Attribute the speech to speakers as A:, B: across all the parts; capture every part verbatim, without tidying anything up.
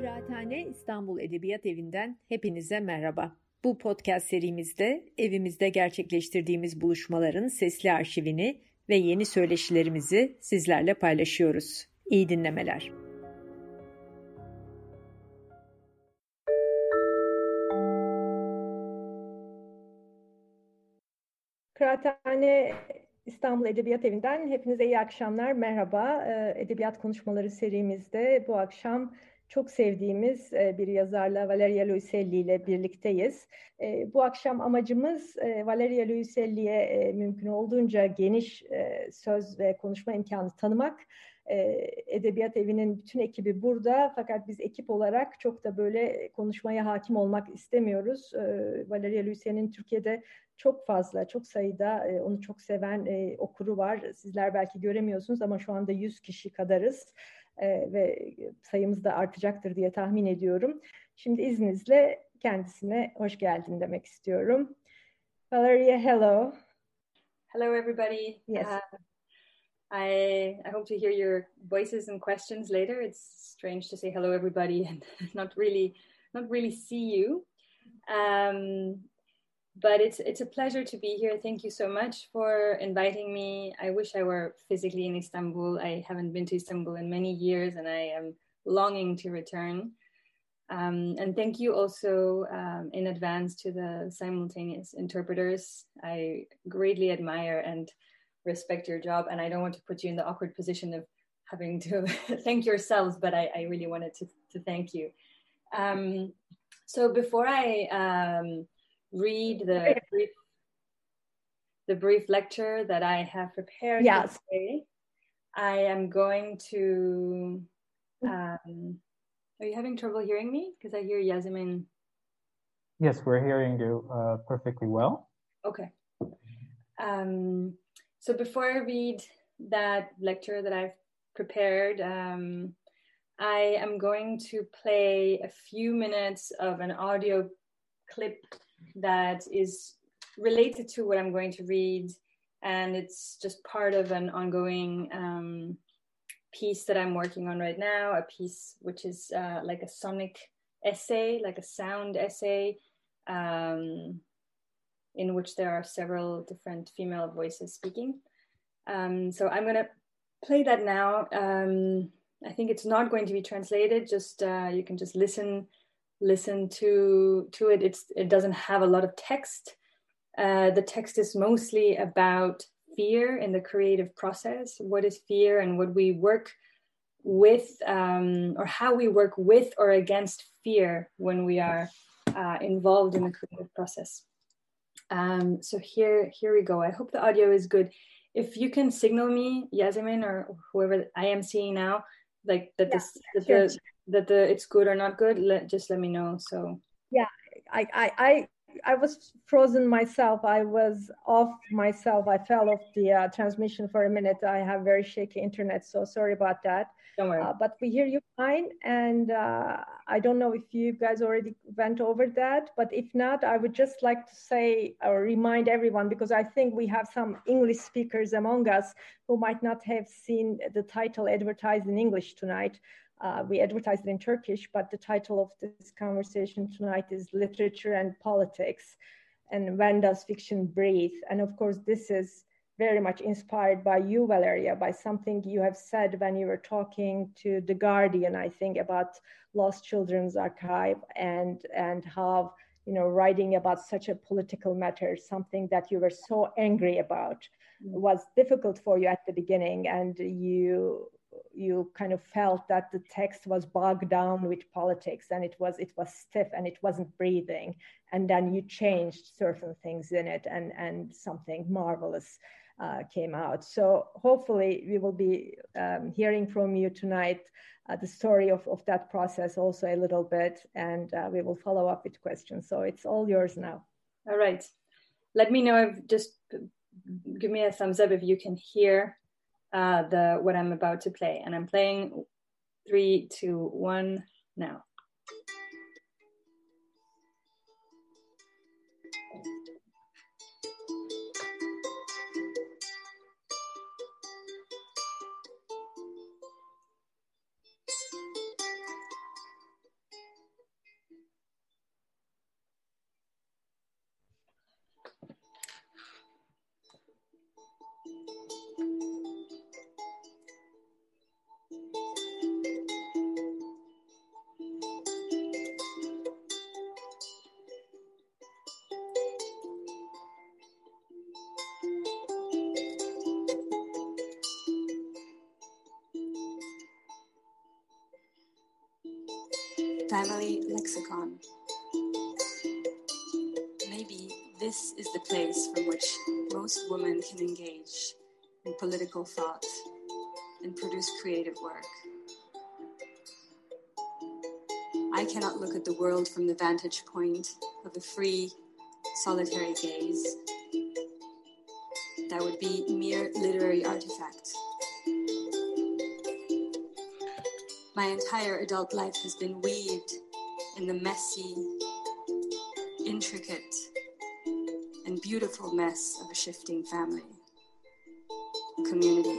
A: Kıraathane İstanbul Edebiyat Evi'nden hepinize merhaba. Bu podcast serimizde evimizde gerçekleştirdiğimiz buluşmaların sesli arşivini ve yeni söyleşilerimizi sizlerle paylaşıyoruz. İyi dinlemeler. Kıraathane İstanbul Edebiyat Evi'nden hepinize iyi akşamlar, merhaba. Edebiyat konuşmaları serimizde bu akşam çok sevdiğimiz bir yazarla Valeria Luiselli ile birlikteyiz. Bu akşam amacımız Valeria Luiselli'ye mümkün olduğunca geniş söz ve konuşma imkanı tanımak. Edebiyat Evi'nin bütün ekibi burada, fakat biz ekip olarak çok da böyle konuşmaya hakim olmak istemiyoruz. Valeria Luiselli'nin Türkiye'de çok fazla, çok sayıda onu çok seven okuru var. Sizler belki göremiyorsunuz ama şu anda yüz kişi kadarız ve sayımız da artacaktır diye tahmin ediyorum. Şimdi izninizle kendisine hoş geldin demek istiyorum. Valeria, hello.
B: Hello, everybody.
A: Yes.
B: Uh, I I hope to hear your voices and questions later. It's strange to say hello, everybody, and not really not really see you. Um, But it's it's a pleasure to be here. Thank you so much for inviting me. I wish I were physically in Istanbul. I haven't been to Istanbul in many years, and I am longing to return. Um, and thank you also um, in advance to the simultaneous interpreters. I greatly admire and respect your job, and I don't want to put you in the awkward position of having to thank yourselves, but I, I really wanted to, to thank you. Um, so before I... Um, read the brief, the brief lecture that I have prepared
A: Yes.
B: today, I am going to, um, are you having trouble hearing me? Because I hear Yasemin.
C: Yes, we're hearing you uh, perfectly well.
B: Okay. Um, so before I read that lecture that I've prepared, um, I am going to play a few minutes of an audio clip that is related to what I'm going to read, and it's just part of an ongoing um, piece that I'm working on right now, a piece which is uh, like a sonic essay, like a sound essay, um, in which there are several different female voices speaking. Um, so I'm going to play that now. Um, I think it's not going to be translated, just uh, you can just listen listen to to it. It's it doesn't have a lot of text. Uh, the text is mostly about fear in the creative process. What is fear, and what we work with, um, or how we work with or against fear when we are uh, involved in the creative process. Um, so here here we go. I hope the audio is good. If you can signal me, Yasemin, or whoever I am seeing now, like that
A: Yeah,
B: this that
A: sure.
B: the that the it's good or not good, let just let me know. So
A: yeah, I I I, I was frozen myself. I was off myself. I fell off the uh, transmission for a minute. I have very shaky internet, so sorry about that.
B: don't worry.
A: Uh, but we hear you fine, and uh, I don't know if you guys already went over that, but if not, I would just like to say or remind everyone, because I think we have some English speakers among us who might not have seen the title advertised in English tonight. Uh, we advertised it in Turkish, but the title of this conversation tonight is Literature and Politics, and When Does Fiction Breathe? And of course, this is very much inspired by you, Valeria, by something you have said when you were talking to The Guardian, I think, about Lost Children's Archive, and, and how, you know, writing about such a political matter, something that you were so angry about, was difficult for you at the beginning, and you you kind of felt that the text was bogged down with politics, and it was it was stiff and it wasn't breathing, and then you changed certain things in it, and and something marvelous uh, came out. So hopefully we will be um, hearing from you tonight uh, the story of, of that process also a little bit, and uh, we will follow up with questions. So it's all yours now.
B: All right, let me know if just give me a thumbs up if you can hear Uh, the what I'm about to play, and I'm playing three, two, one now.
D: Family lexicon. Maybe this is the place from which most women can engage in political thought and produce creative work. I cannot look at the world from the vantage point of a free, solitary gaze. That would be mere literary artifact. My entire adult life has been weaved in the messy, intricate, and beautiful mess of a shifting family, a community.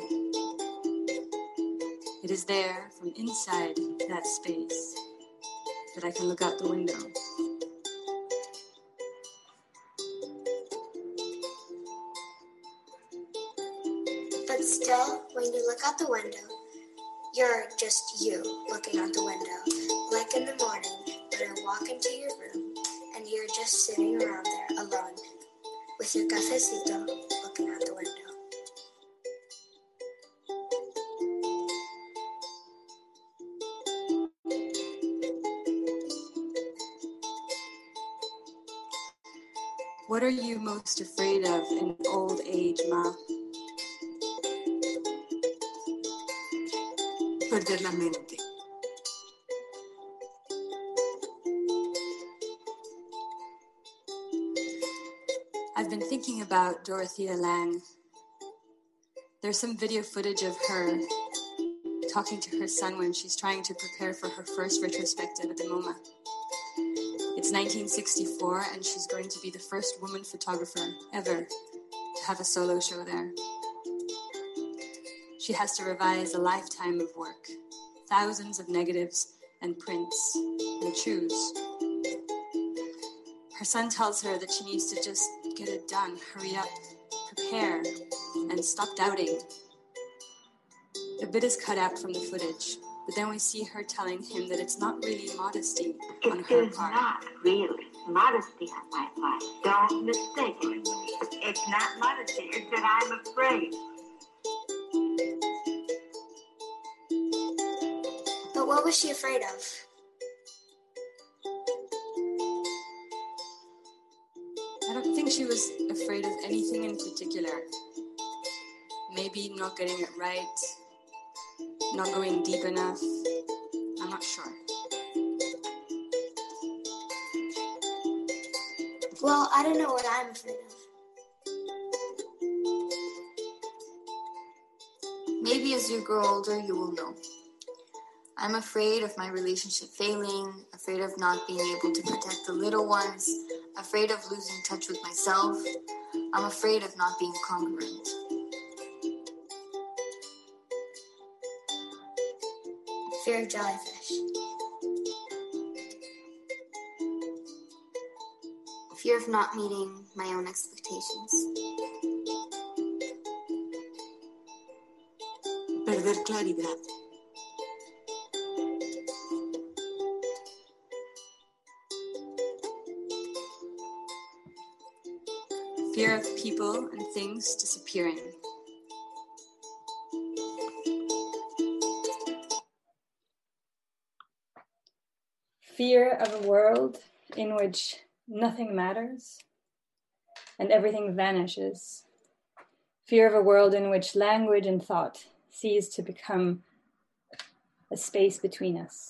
D: It is there, from inside that space, that I can look out the window.
E: But still, when you look out the window, you're just you looking out the window. Like in the morning, when I walk into your room, and you're just sitting around there alone, with your cafecito, looking out the window.
D: What are you most afraid of in old age, Ma?
F: Perder la mente.
D: I've been thinking about Dorothea Lange. There's some video footage of her talking to her son when she's trying to prepare for her first retrospective at the MoMA. It's nineteen sixty-four, and she's going to be the first woman photographer ever to have a solo show there. She has to revise a lifetime of work, thousands of negatives and prints, and choose. Her son tells her that she needs to just get it done, hurry up, prepare, and stop doubting. A bit is cut out from the footage, but then we see her telling him that it's not really modesty on her
G: It is
D: part.
G: not really modesty on my part. Don't mistake it. It's not modesty. It's that I'm afraid.
E: But what was she afraid of?
D: I don't think she was afraid of anything in particular. Maybe not getting it right, not going deep enough. I'm not sure.
E: Well, I don't know what I'm afraid of.
H: Maybe as you grow older, you will know. I'm afraid of my relationship failing, afraid of not being able to protect the little ones, afraid of losing touch with myself. I'm afraid of not being congruent.
E: Fear of jellyfish.
H: Fear of not meeting my own expectations.
F: Perder claridad.
D: Fear of people and things disappearing.
B: Fear of a world in which nothing matters and everything vanishes. Fear of a world in which language and thought cease to become a space between us.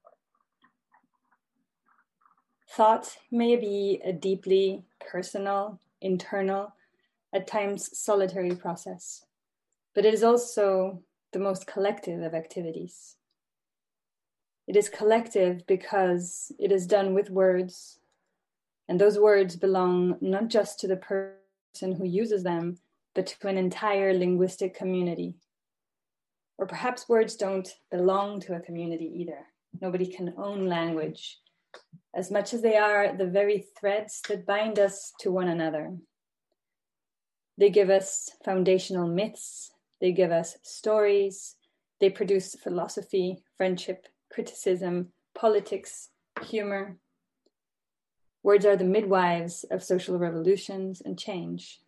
B: Thought may be a deeply personal, internal, at times solitary process, but it is also the most collective of activities. It is collective because it is done with words, and those words belong not just to the person who uses them, but to an entire linguistic community. Or perhaps words don't belong to a community either. Nobody can own language, as much as they are the very threads that bind us to one another. They give us foundational myths, they give us stories, they produce philosophy, friendship, criticism, politics, humor. Words are the midwives of social revolutions and change.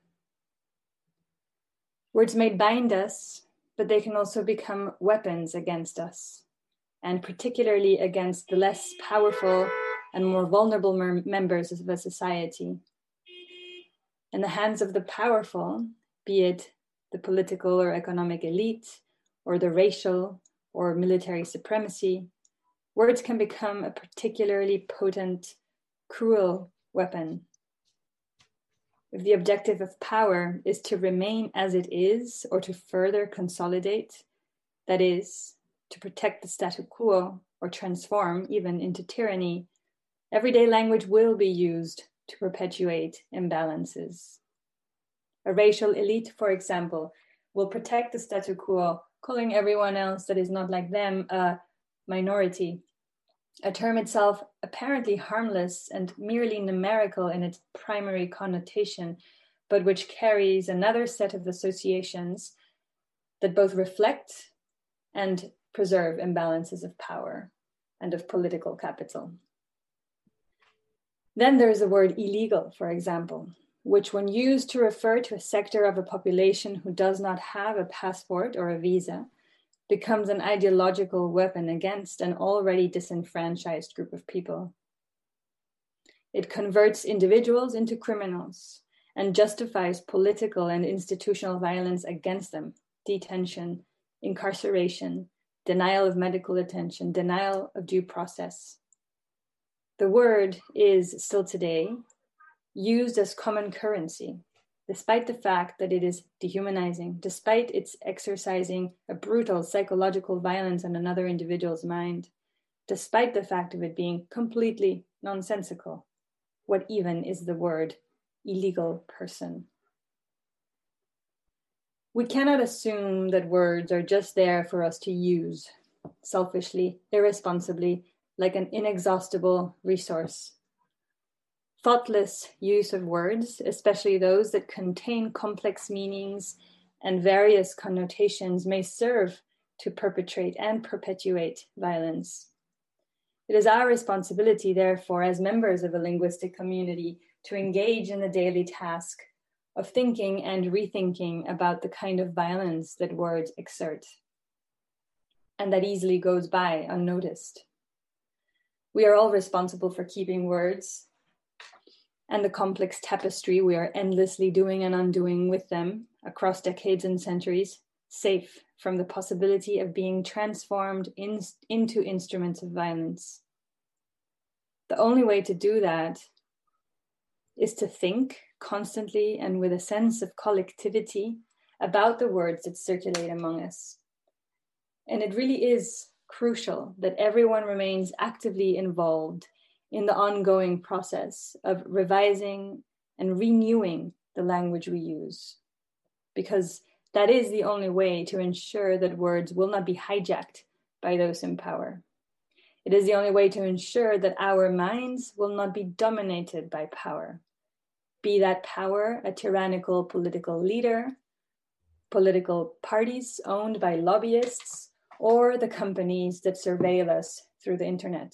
B: Words may bind us, but they can also become weapons against us. and particularly against the less powerful and more vulnerable mer- members of a society. In the hands of the powerful, be it the political or economic elite, or the racial or military supremacy, words can become a particularly potent, cruel weapon. If the objective of power is to remain as it is or to further consolidate, that is, to protect the status quo or transform even into tyranny, everyday language will be used to perpetuate imbalances. A racial elite, for example, will protect the status quo, calling everyone else that is not like them a minority, a term itself apparently harmless and merely numerical in its primary connotation, but which carries another set of associations that both reflect and preserve imbalances of power and of political capital. Then there is the word illegal, for example, which when used to refer to a sector of a population who does not have a passport or a visa, becomes an ideological weapon against an already disenfranchised group of people. It converts individuals into criminals and justifies political and institutional violence against them, detention, incarceration, denial of medical attention, denial of due process. The word is still today used as common currency, despite the fact that it is dehumanizing, despite its exercising a brutal psychological violence on another individual's mind, despite the fact of it being completely nonsensical. What even is the word illegal person? We cannot assume that words are just there for us to use selfishly, irresponsibly, like an inexhaustible resource. Thoughtless use of words, especially those that contain complex meanings and various connotations, may serve to perpetrate and perpetuate violence. It is our responsibility, therefore, as members of a linguistic community, to engage in the daily task of thinking and rethinking about the kind of violence that words exert, and that easily goes by unnoticed. We are all responsible for keeping words and the complex tapestry we are endlessly doing and undoing with them across decades and centuries, safe from the possibility of being transformed in, into instruments of violence. The only way to do that is to think constantly and with a sense of collectivity about the words that circulate among us. And it really is crucial that everyone remains actively involved in the ongoing process of revising and renewing the language we use, because that is the only way to ensure that words will not be hijacked by those in power. It is the only way to ensure that our minds will not be dominated by power, be that power a tyrannical political leader, political parties owned by lobbyists, or the companies that surveil us through the internet.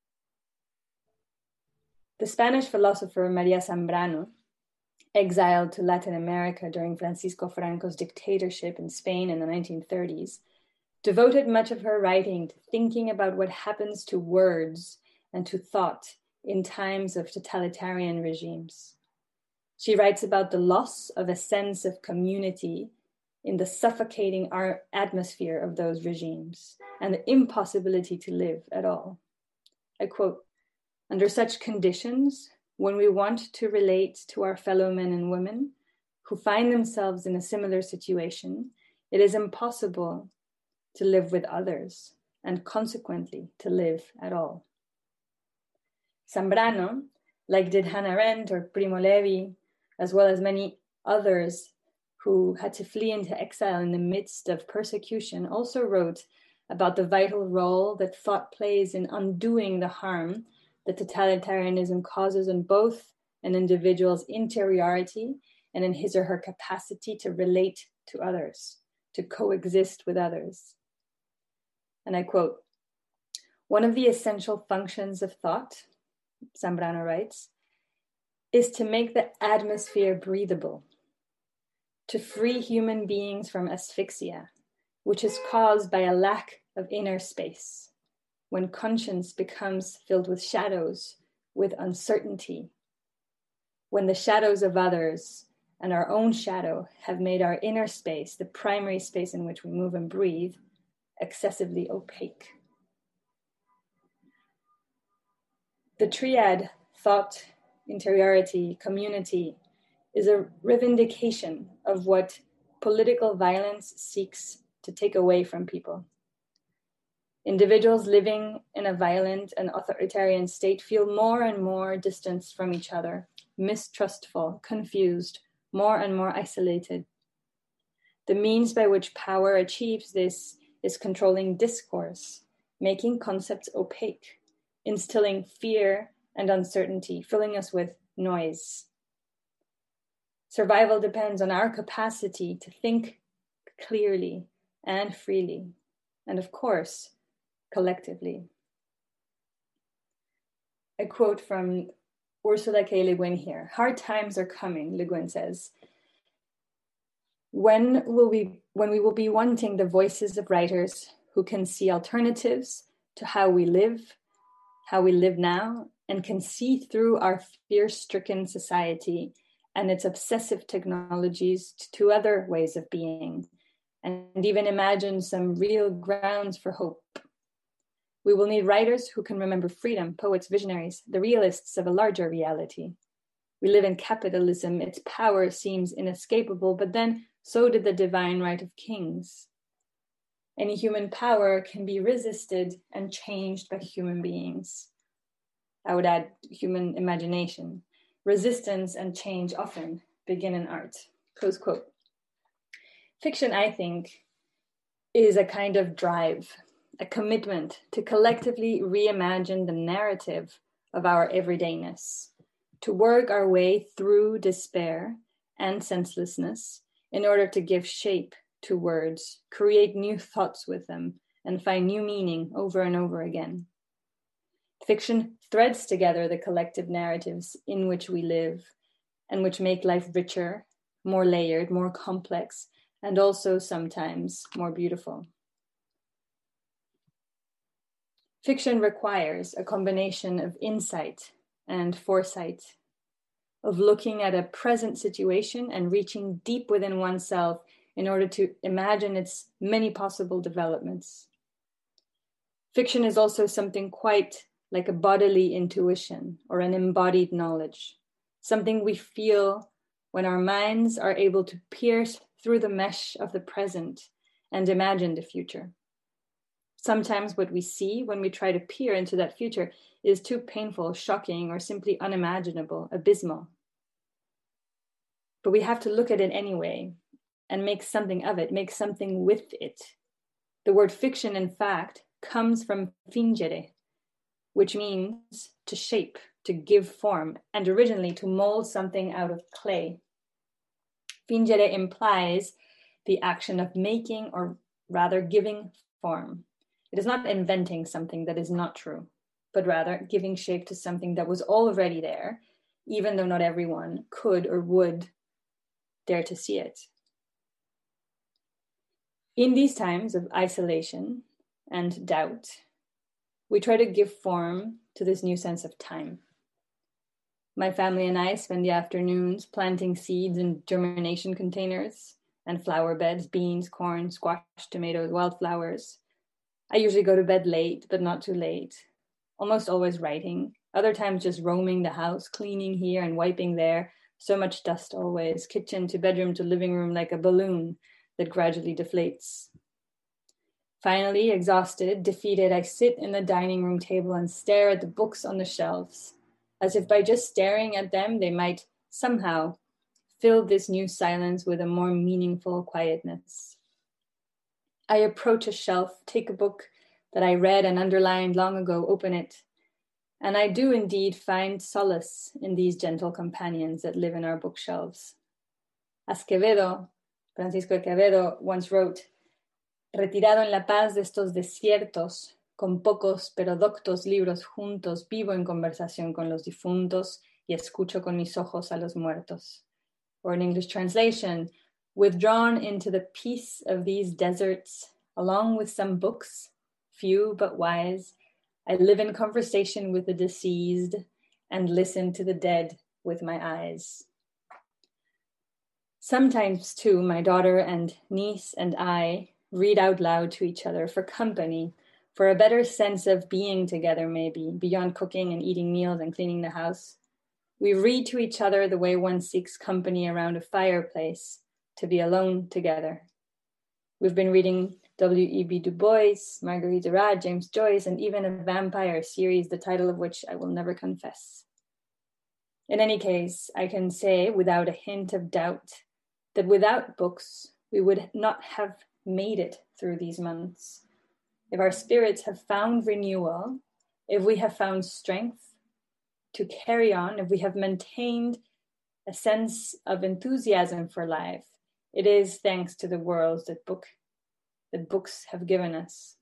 B: The Spanish philosopher Maria Zambrano, exiled to Latin America during Francisco Franco's dictatorship in Spain in the nineteen thirties, devoted much of her writing to thinking about what happens to words and to thought in times of totalitarian regimes. She writes about the loss of a sense of community in the suffocating atmosphere of those regimes and the impossibility to live at all. I quote, "Under such conditions, when we want to relate to our fellow men and women who find themselves in a similar situation, it is impossible to live with others and consequently to live at all." Zambrano, like did Hannah Arendt or Primo Levi, as well as many others who had to flee into exile in the midst of persecution, also wrote about the vital role that thought plays in undoing the harm that totalitarianism causes in both an individual's interiority and in his or her capacity to relate to others, to coexist with others. And I quote, "One of the essential functions of thought," Zambrano writes, "is to make the atmosphere breathable, to free human beings from asphyxia, which is caused by a lack of inner space, when conscience becomes filled with shadows, with uncertainty, when the shadows of others and our own shadow have made our inner space, the primary space in which we move and breathe, excessively opaque. The triad, thought, interiority, community, is a revindication of what political violence seeks to take away from people. Individuals living in a violent and authoritarian state feel more and more distanced from each other, mistrustful, confused, more and more isolated. The means by which power achieves this is controlling discourse, making concepts opaque, instilling fear and uncertainty, filling us with noise. Survival depends on our capacity to think clearly and freely, and of course, collectively. A quote from Ursula K. Le Guin here. Hard times are coming, Le Guin says. When will we, when we will be wanting the voices of writers who can see alternatives to how we live, how we live now, and can see through our fear-stricken society and its obsessive technologies to other ways of being, and even imagine some real grounds for hope. We will need writers who can remember freedom, poets, visionaries, the realists of a larger reality. We live in capitalism, its power seems inescapable, but then so did the divine right of kings. Any human power can be resisted and changed by human beings. I would add human imagination. Resistance and change often begin in art. Close quote. Fiction, I think, is a kind of drive, a commitment to collectively reimagine the narrative of our everydayness, to work our way through despair and senselessness in order to give shape to words, create new thoughts with them, and find new meaning over and over again. Fiction threads together the collective narratives in which we live and which make life richer, more layered, more complex, and also sometimes more beautiful. Fiction requires a combination of insight and foresight, of looking at a present situation and reaching deep within oneself in order to imagine its many possible developments. Fiction is also something quite like a bodily intuition or an embodied knowledge, something we feel when our minds are able to pierce through the mesh of the present and imagine the future. Sometimes what we see when we try to peer into that future is too painful, shocking, or simply unimaginable, abysmal. But we have to look at it anyway and make something of it, make something with it. The word fiction, in fact, comes from fingere, which means to shape, to give form, and originally to mold something out of clay. Fingere implies the action of making, or rather giving form. It is not inventing something that is not true, but rather giving shape to something that was already there, even though not everyone could or would dare to see it. In these times of isolation and doubt, we try to give form to this new sense of time. My family and I spend the afternoons planting seeds in germination containers and flower beds, beans, corn, squash, tomatoes, wildflowers. I usually go to bed late, but not too late, almost always writing, other times just roaming the house, cleaning here and wiping there, so much dust always, kitchen to bedroom to living room like a balloon that gradually deflates. Finally, exhausted, defeated, I sit in the dining room table and stare at the books on the shelves, as if by just staring at them, they might somehow fill this new silence with a more meaningful quietness. I approach a shelf, take a book that I read and underlined long ago, open it, and I do indeed find solace in these gentle companions that live in our bookshelves. As Quevedo, Francisco Quevedo, once wrote, retirado en la paz de estos desiertos, con pocos pero doctos libros juntos, vivo en conversación con los difuntos y escucho con mis ojos a los muertos. Or in English translation, withdrawn into the peace of these deserts, along with some books, few but wise, I live in conversation with the deceased and listen to the dead with my eyes. Sometimes, too, my daughter and niece and I read out loud to each other for company, for a better sense of being together, maybe, beyond cooking and eating meals and cleaning the house. We read to each other the way one seeks company around a fireplace, to be alone together. We've been reading W E B Du Bois, Marguerite Duras, James Joyce, and even a vampire series, the title of which I will never confess. In any case, I can say without a hint of doubt that without books, we would not have made it through these months. If our spirits have found renewal, if we have found strength to carry on, if we have maintained a sense of enthusiasm for life, it is thanks to the worlds that book that books have given us.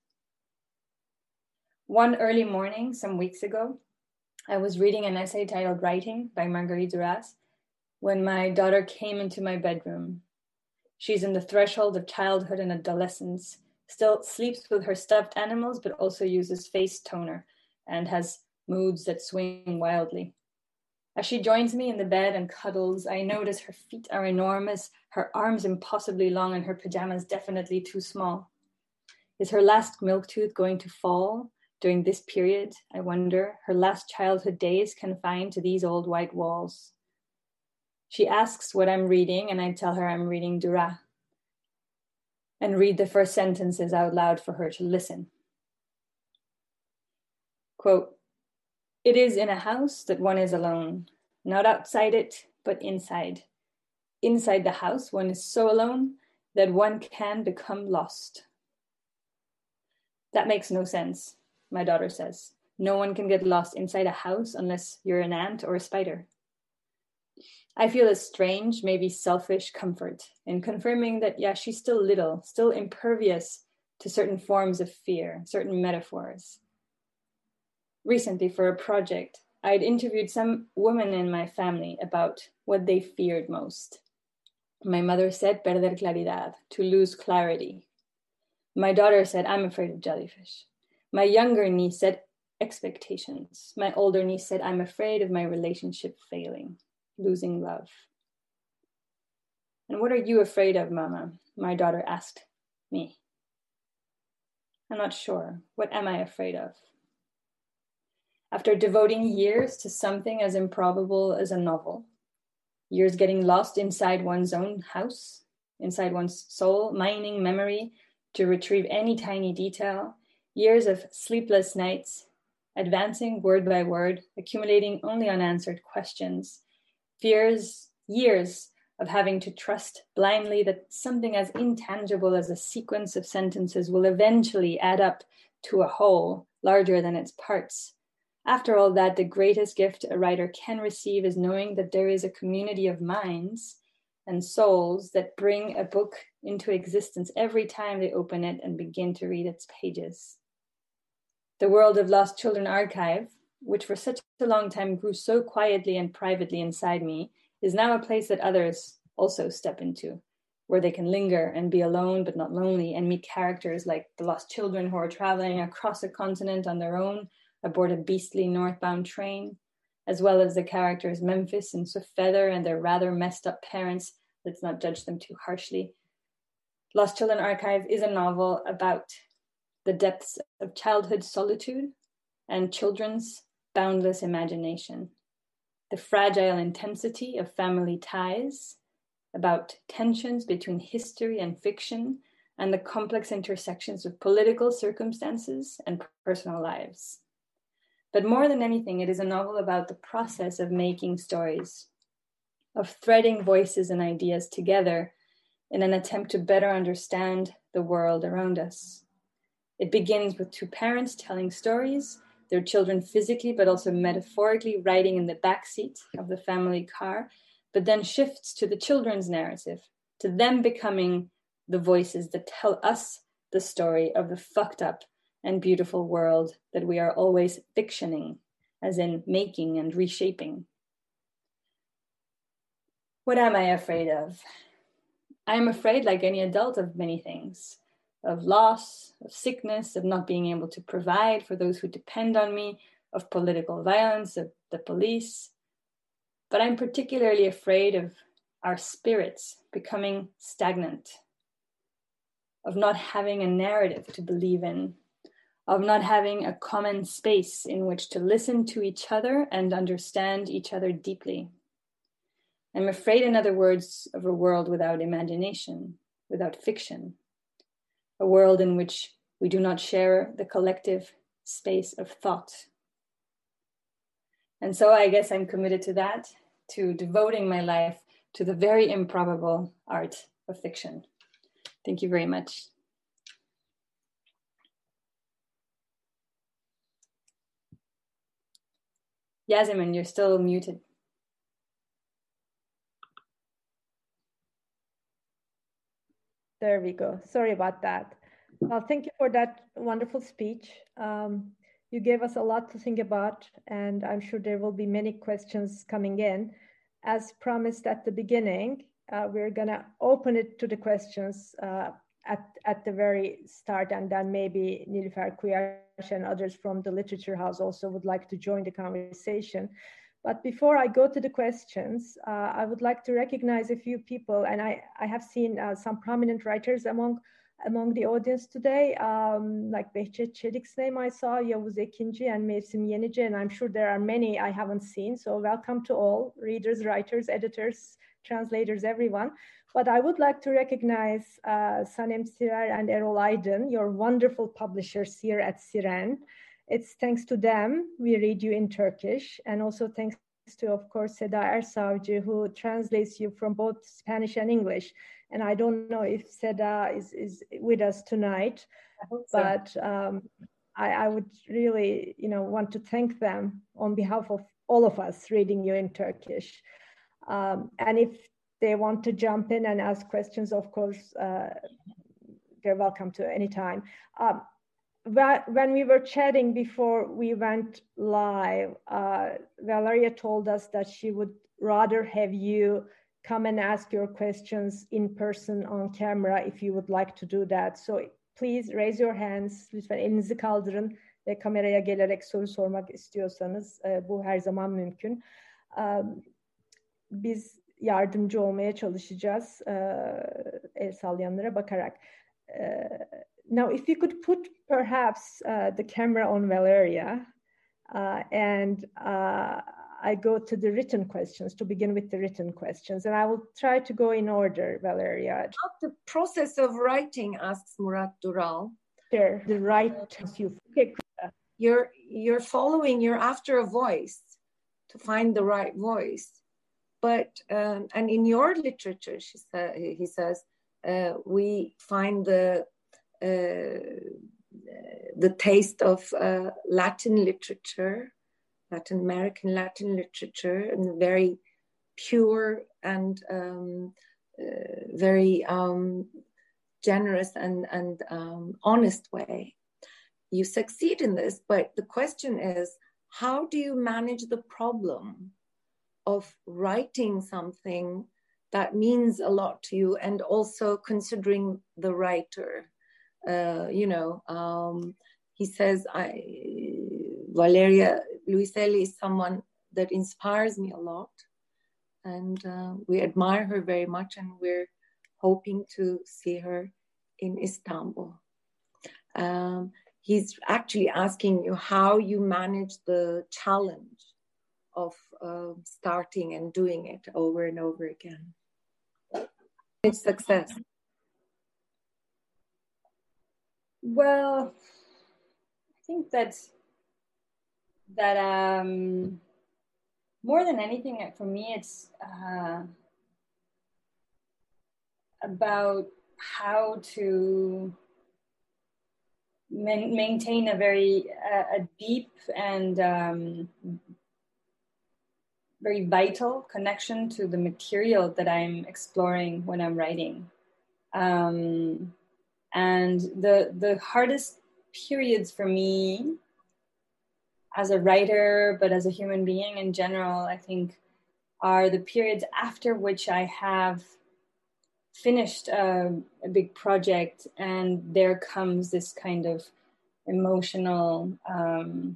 B: One early morning, some weeks ago, I was reading an essay titled Writing by Marguerite Duras when my daughter came into my bedroom. She's in the threshold of childhood and adolescence, still sleeps with her stuffed animals, but also uses face toner and has moods that swing wildly. As she joins me in the bed and cuddles, I notice her feet are enormous, her arms impossibly long, and her pajamas definitely too small. Is her last milk tooth going to fall during this period, I wonder, her last childhood days confined to these old white walls? She asks what I'm reading, and I tell her I'm reading Duras, and read the first sentences out loud for her to listen. Quote, "It is in a house that one is alone, not outside it, but inside. Inside the house, one is so alone that one can become lost." That makes no sense, my daughter says. No one can get lost inside a house unless you're an ant or a spider. I feel a strange, maybe selfish comfort in confirming that, yeah, she's still little, still impervious to certain forms of fear, certain metaphors. Recently, for a project, I'd interviewed some women in my family about what they feared most. My mother said, perder claridad, to lose clarity. My daughter said, I'm afraid of jellyfish. My younger niece said, expectations. My older niece said, I'm afraid of my relationship failing, losing love. And what are you afraid of, Mama? My daughter asked me. I'm not sure. What am I afraid of? After devoting years to something as improbable as a novel, years getting lost inside one's own house, inside one's soul, mining memory to retrieve any tiny detail, years of sleepless nights, advancing word by word, accumulating only unanswered questions, fears, years of having to trust blindly that something as intangible as a sequence of sentences will eventually add up to a whole larger than its parts. After all that, the greatest gift a writer can receive is knowing that there is a community of minds and souls that bring a book into existence every time they open it and begin to read its pages. The World of Lost Children archive, which for such a long time grew so quietly and privately inside me, is now a place that others also step into, where they can linger and be alone but not lonely and meet characters like the lost children who are traveling across a continent on their own aboard a beastly northbound train, as well as the characters Memphis and Swift Feather and their rather messed up parents. Let's not judge them too harshly. Lost Children Archive is a novel about the depths of childhood solitude and children's boundless imagination, the fragile intensity of family ties, about tensions between history and fiction, and the complex intersections of political circumstances and personal lives. But more than anything, it is a novel about the process of making stories, of threading voices and ideas together in an attempt to better understand the world around us. It begins with two parents telling stories, their children physically but also metaphorically riding in the backseat of the family car, but then shifts to the children's narrative, to them becoming the voices that tell us the story of the fucked up and beautiful world that we are always fictioning, as in making and reshaping. What am I afraid of? I am afraid, like any adult, of many things. of loss, of sickness, of not being able to provide for those who depend on me, of political violence, of the police. But I'm particularly afraid of our spirits becoming stagnant, of not having a narrative to believe in, of not having a common space in which to listen to each other and understand each other deeply. I'm afraid, in other words, of a world without imagination, without fiction, a world in which we do not share the collective space of thought. And so I guess I'm committed to that, to devoting my life to the very improbable art of fiction. Thank you very much. Yasemin, you're still muted.
A: There we go. Sorry about that. Well, thank you for that wonderful speech. Um, you gave us a lot to think about, and I'm sure there will be many questions coming in. As promised at the beginning, uh, we're gonna open it to the questions uh, at, at the very start, and then maybe Nilüfer Kuyaş and others from the Literature House also would like to join the conversation. But before I go to the questions, uh, I would like to recognize a few people, and I, I have seen uh, some prominent writers among among the audience today, um, like Behçet Çelik's name I saw, Yavuz Ekinci and Mevsim Yenici, and I'm sure there are many I haven't seen. So welcome to all readers, writers, editors, translators, everyone. But I would like to recognize uh, Sanem Sirer and Erol Aydın, your wonderful publishers here at Siren. It's thanks to them we read you in Turkish, and also thanks to, of course, Seda Ersavcı, who translates you from both Spanish and English. And I don't know if Seda is, is with us tonight,
B: I hope so.
A: but um, I, I would really, you know, want to thank them on behalf of all of us reading you in Turkish. Um, and if they want to jump in and ask questions, of course, uh, they're welcome to any time. Um, when we were chatting before we went live, uh, Valeria told us that she would rather have you come and ask your questions in person on camera if you would like to do that. So please raise your hands. Lütfen elinizi kaldırın ve kameraya gelerek soru sormak istiyorsanız bu her zaman mümkün. Biz yardımcı olmaya çalışacağız el sallayanlara bakarak. Now, if you could put perhaps uh, the camera on Valeria, uh, and uh, I go to the written questions, to begin with the written questions, and I will try to go in order, Valeria.
I: About the process of writing, asks Murat Dural.
A: Sure, the right you. Okay.
I: You're, you're following, you're after a voice to find the right voice. But, um, and in your literature, she sa- he says, uh, we find the Uh, the taste of uh, Latin literature, Latin American Latin literature, in a very pure and um, uh, very um, generous and, and um, honest way. You succeed in this, but the question is, how do you manage the problem of writing something that means a lot to you and also considering the writer? Uh, you know, um, he says, I, Valeria Luiselli is someone that inspires me a lot. And uh, we admire her very much, and we're hoping to see her in Istanbul. Um, he's actually asking you how you manage the challenge of uh, starting and doing it over and over again. It's success.
B: Well, I think that that um, more than anything, for me, it's uh, about how to man- maintain a very uh, a deep and um, very vital connection to the material that I'm exploring when I'm writing. Um, And the the hardest periods for me as a writer, but as a human being in general, I think, are the periods after which I have finished uh, a big project, and there comes this kind of emotional um,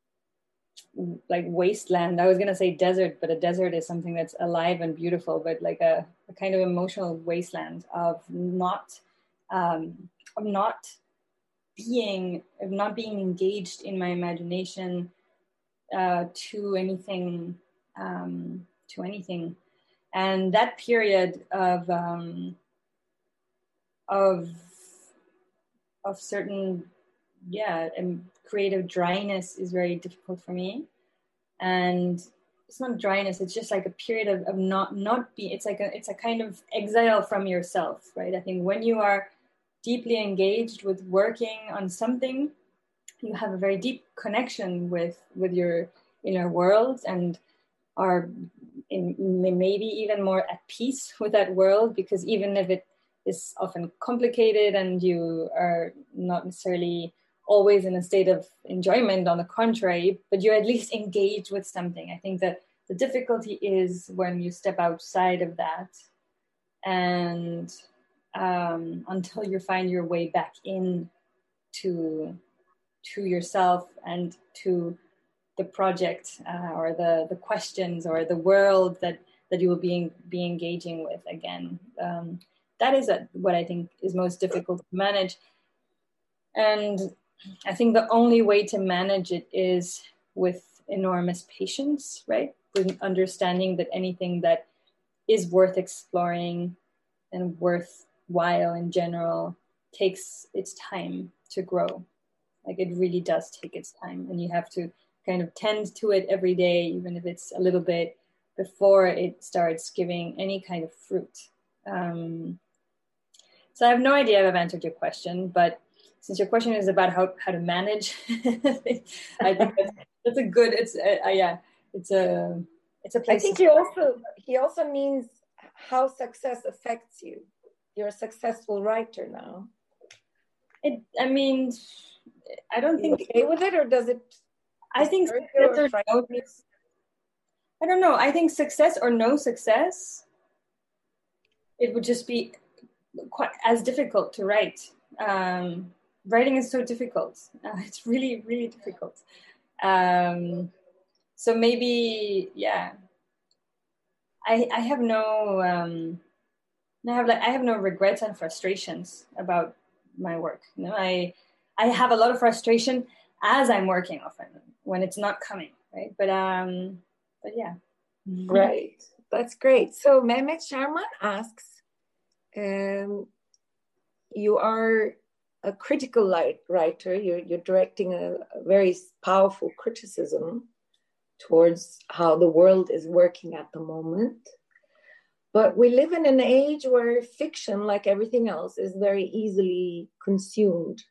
B: like wasteland. I was gonna say desert, but a desert is something that's alive and beautiful, but like a, a kind of emotional wasteland of not um, of not being of not being engaged in my imagination uh, to anything um, to anything. And that period of um, of of certain yeah and creative dryness is very difficult for me. And it's not dryness, it's just like a period of, of not not be it's like a it's a kind of exile from yourself, right? I think when you are deeply engaged with working on something, you have a very deep connection with with your inner world, and are in, maybe even more at peace with that world, because even if it is often complicated and you are not necessarily always in a state of enjoyment, on the contrary, but you're at least engaged with something. I think that the difficulty is when you step outside of that, and um, until you find your way back in to to yourself and to the project uh, or the the questions or the world that that you will be be engaging with again. Um, that is a, what I think is most difficult to manage, and I think the only way to manage it is with enormous patience, right? With understanding that anything that is worth exploring and worthwhile in general takes its time to grow. Like it really does take its time, and you have to kind of tend to it every day, even if it's a little bit, before it starts giving any kind of fruit. Um, so I have no idea if I've answered your question, but since your question is about how, how to manage, I think that's, that's a good, it's a, uh, yeah, it's a, it's a place.
I: I think he also, he also means how success affects you. You're a successful writer now.
B: It, I mean, I don't think.
I: Are you okay with it, or does it?
B: I think success or no, I don't know. I think success or no success, it would just be quite as difficult to write. Um, writing is so difficult. Uh, it's really, really difficult. Um, so maybe, yeah. I I have no um, I have like I have no regrets and frustrations about my work. You know, I I have a lot of frustration as I'm working often when it's not coming, right? But um, but yeah.
I: Right. That's great. So Mehmet Sharman asks, um, you are a critical writer. You're you're directing a, a very powerful criticism towards how the world is working at the moment. But we live in an age where fiction, like everything else, is very easily consumed.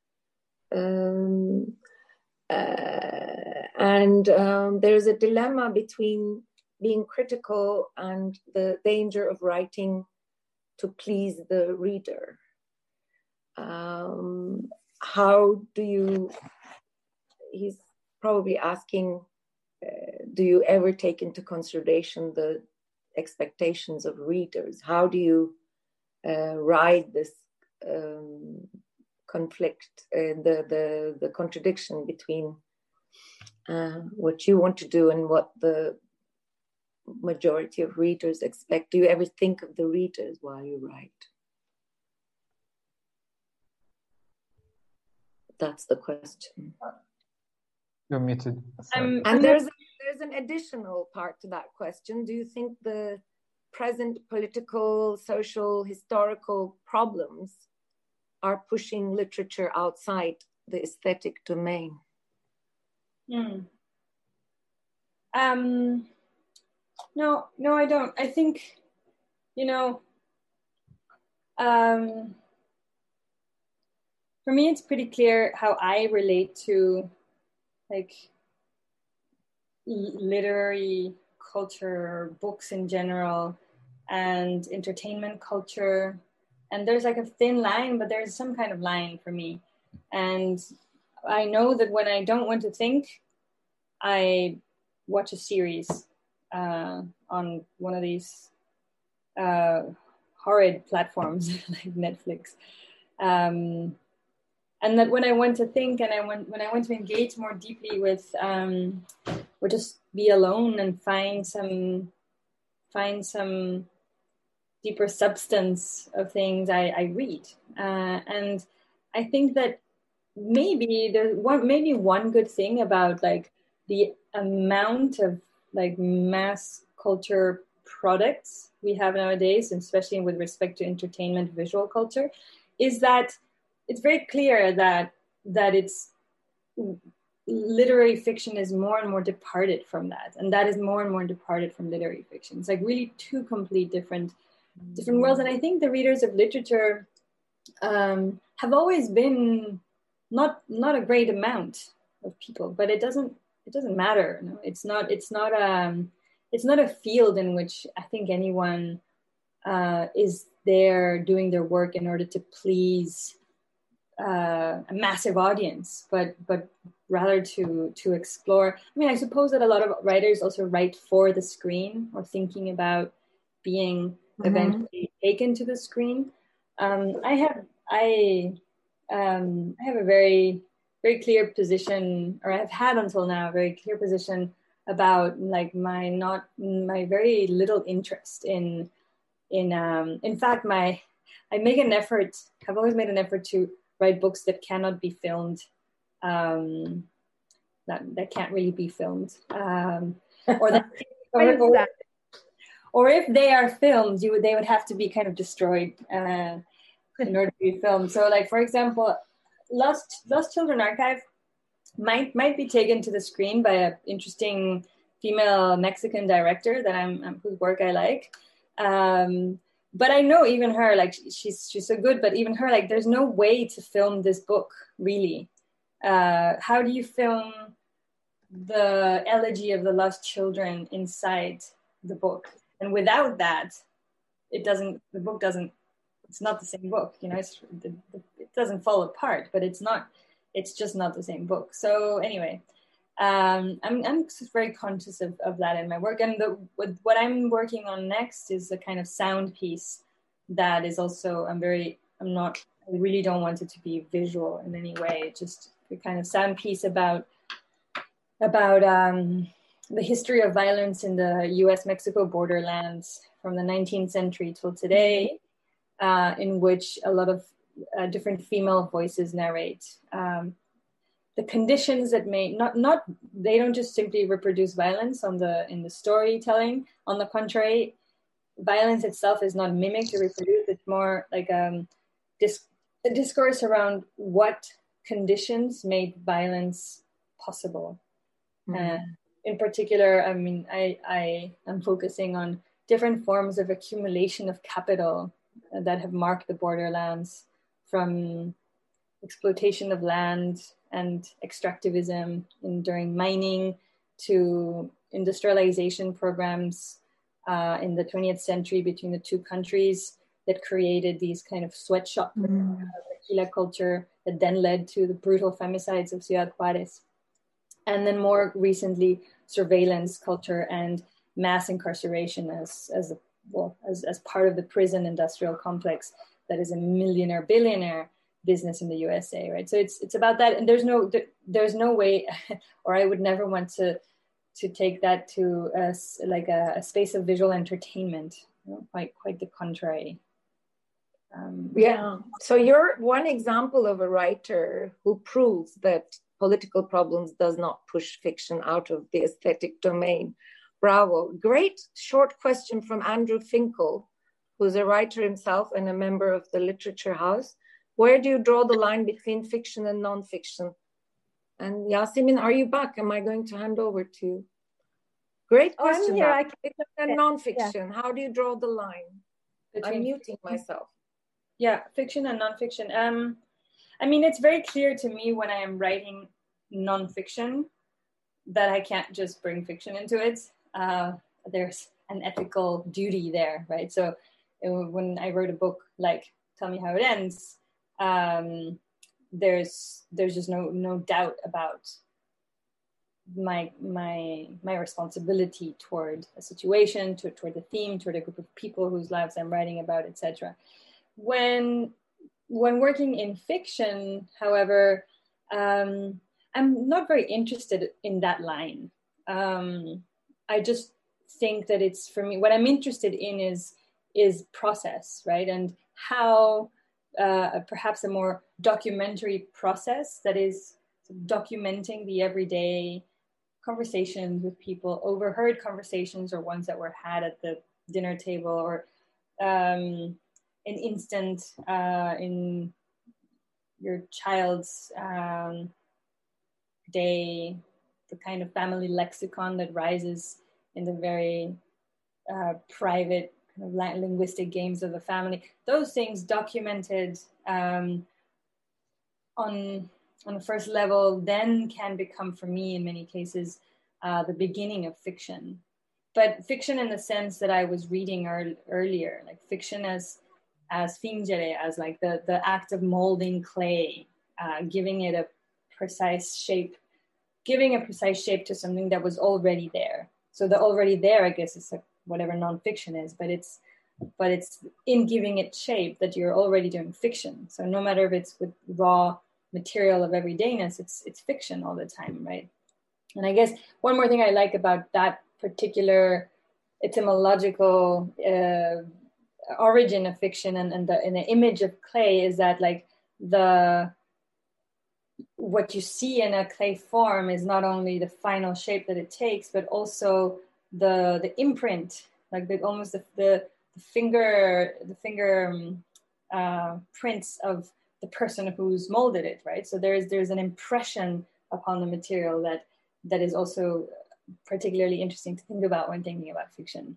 I: Um, uh, and um, there's a dilemma between being critical and the danger of writing to please the reader. Um, how do you, he's probably asking, uh, do you ever take into consideration the expectations of readers? How do you uh, ride this um, conflict, uh, the, the, the contradiction between uh, what you want to do and what the majority of readers expect? Do you ever think of the readers while you write? That's the question.
C: You're muted.
B: Um,
I: and there's a, there's an additional part to that question. Do you think the present political, social, historical problems are pushing literature outside the aesthetic domain?
B: Hmm. Um, no, no, I don't. I think, you know, um, for me, it's pretty clear how I relate to like literary culture, books in general, and entertainment culture. And there's like a thin line, but there's some kind of line for me. And I know that when I don't want to think, I watch a series uh, on one of these uh, horrid platforms like Netflix. Um, and that when I went to think and I went, when I went to engage more deeply with, um, or just be alone and find some, find some deeper substance of things, I, I read. Uh, and I think that maybe there's one, maybe one good thing about like the amount of like mass culture products we have nowadays, and especially with respect to entertainment, visual culture, is that it's very clear that that it's literary fiction is more and more departed from that, and that is more and more departed from literary fiction. It's like really two complete different different worlds. And I think the readers of literature um, have always been not not a great amount of people, but it doesn't it doesn't matter. You know? It's not it's not um it's not a field in which I think anyone uh, is there doing their work in order to please uh, a massive audience, but but rather to to explore. I mean, I suppose that a lot of writers also write for the screen or thinking about being mm-hmm. eventually taken to the screen. Um, I have I um, I have a very very clear position, or I've had until now a very clear position about like my not my very little interest in in um, in fact my I make an effort. I've always made an effort to write books that cannot be filmed, um, that that can't really be filmed, um, or that, or, or, that? or if they are filmed, you would they would have to be kind of destroyed uh, in order to be filmed. So, like for example, Lost Lost Children Archive might might be taken to the screen by an interesting female Mexican director that I'm, I'm whose work I like. Um, But I know even her, like she's she's so good, but even her, like there's no way to film this book, really. Uh, how do you film the elegy of the lost children inside the book? And without that, it doesn't, the book doesn't, it's not the same book, you know, it's, the, the, it doesn't fall apart, but it's not, it's just not the same book. So anyway, um, I'm, I'm just very conscious of, of that in my work. And the, what, what I'm working on next is a kind of sound piece that is also, I'm very, I'm not, I really don't want it to be visual in any way. Just a kind of sound piece about, about um, the history of violence in the U S Mexico borderlands from the nineteenth century till today, uh, in which a lot of uh, different female voices narrate um, the conditions that may not, not, they don't just simply reproduce violence on the, in the storytelling. On the contrary, violence itself is not mimicked or reproduced. It's more like um, dis- a discourse around what conditions made violence possible. Mm-hmm. Uh, in particular, I mean, I, I am focusing on different forms of accumulation of capital that have marked the borderlands, from exploitation of land and extractivism in, during mining to industrialization programs uh, in the twentieth century between the two countries that created these kind of sweatshop mm. uh, tequila culture that then led to the brutal femicides of Ciudad Juarez. And then more recently, surveillance culture and mass incarceration as as a, well as, as part of the prison industrial complex that is a millionaire billionaire business in the U S A, right? So it's it's about that, and there's no there's no way, or I would never want to to take that to a, like a, a space of visual entertainment. You know, quite quite the contrary.
I: Um, yeah. So you're one example of a writer who proves that political problems does not push fiction out of the aesthetic domain. Bravo. Great short question from Andrew Finkel, who's a writer himself and a member of the Literature House. Where do you draw the line between fiction and nonfiction? And Yasemin, are you back? Am I going to hand over to you? Great question.
A: Oh, I'm here.
I: Fiction and nonfiction. Yeah. How do you draw the line? Between I'm muting myself.
B: Yeah, fiction and nonfiction. Um, I mean, it's very clear to me when I am writing nonfiction that I can't just bring fiction into it. Uh, there's an ethical duty there, right? So it, when I wrote a book like Tell Me How It Ends, um, there's there's just no no doubt about my my my responsibility toward a situation, to, toward the theme, toward a group of people whose lives I'm writing about, et cetera. When when working in fiction, however, um, I'm not very interested in that line. Um, I just think that it's, for me, what I'm interested in is is process, right? And how uh, perhaps a more documentary process that is documenting the everyday conversations with people, overheard conversations or ones that were had at the dinner table, or um, an instant uh, in your child's um, day, the kind of family lexicon that rises in the very uh, private kind of linguistic games of the family. Those things documented um, on on the first level then can become, for me in many cases, uh, the beginning of fiction. But fiction in the sense that I was reading ear- earlier, like fiction as as fingere, as like the, the act of molding clay, uh, giving it a precise shape, giving a precise shape to something that was already there. So the already there, I guess, is like whatever nonfiction is, but it's but it's in giving it shape that you're already doing fiction. So no matter if it's with raw material of everydayness, it's it's fiction all the time, right? And I guess one more thing I like about that particular etymological uh, origin of fiction and, and, the, and the image of clay is that, like, the what you see in a clay form is not only the final shape that it takes, but also the the imprint, like the almost the the, the finger the finger um, uh, prints of the person who's molded it, right? So there's there's an impression upon the material that that is also particularly interesting to think about when thinking about fiction.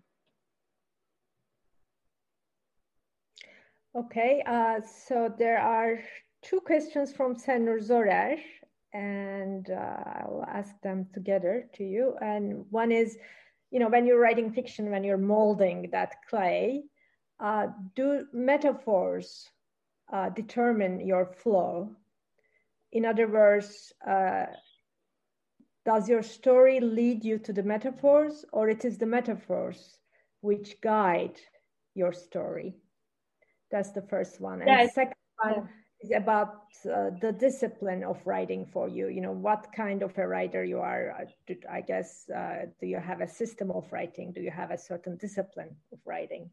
A: Okay, uh, so there are two questions from Senur Zorer, and uh, I'll ask them together to you. And one is, you know, when you're writing fiction, when you're molding that clay, uh, do metaphors uh, determine your flow? In other words, uh, does your story lead you to the metaphors, or it is the metaphors which guide your story? That's the first one. And
B: yeah,
A: the second one
B: yeah.
A: is about uh, the discipline of writing for you. You know, what kind of a writer you are. I guess, uh, do you have a system of writing? Do you have a certain discipline of writing?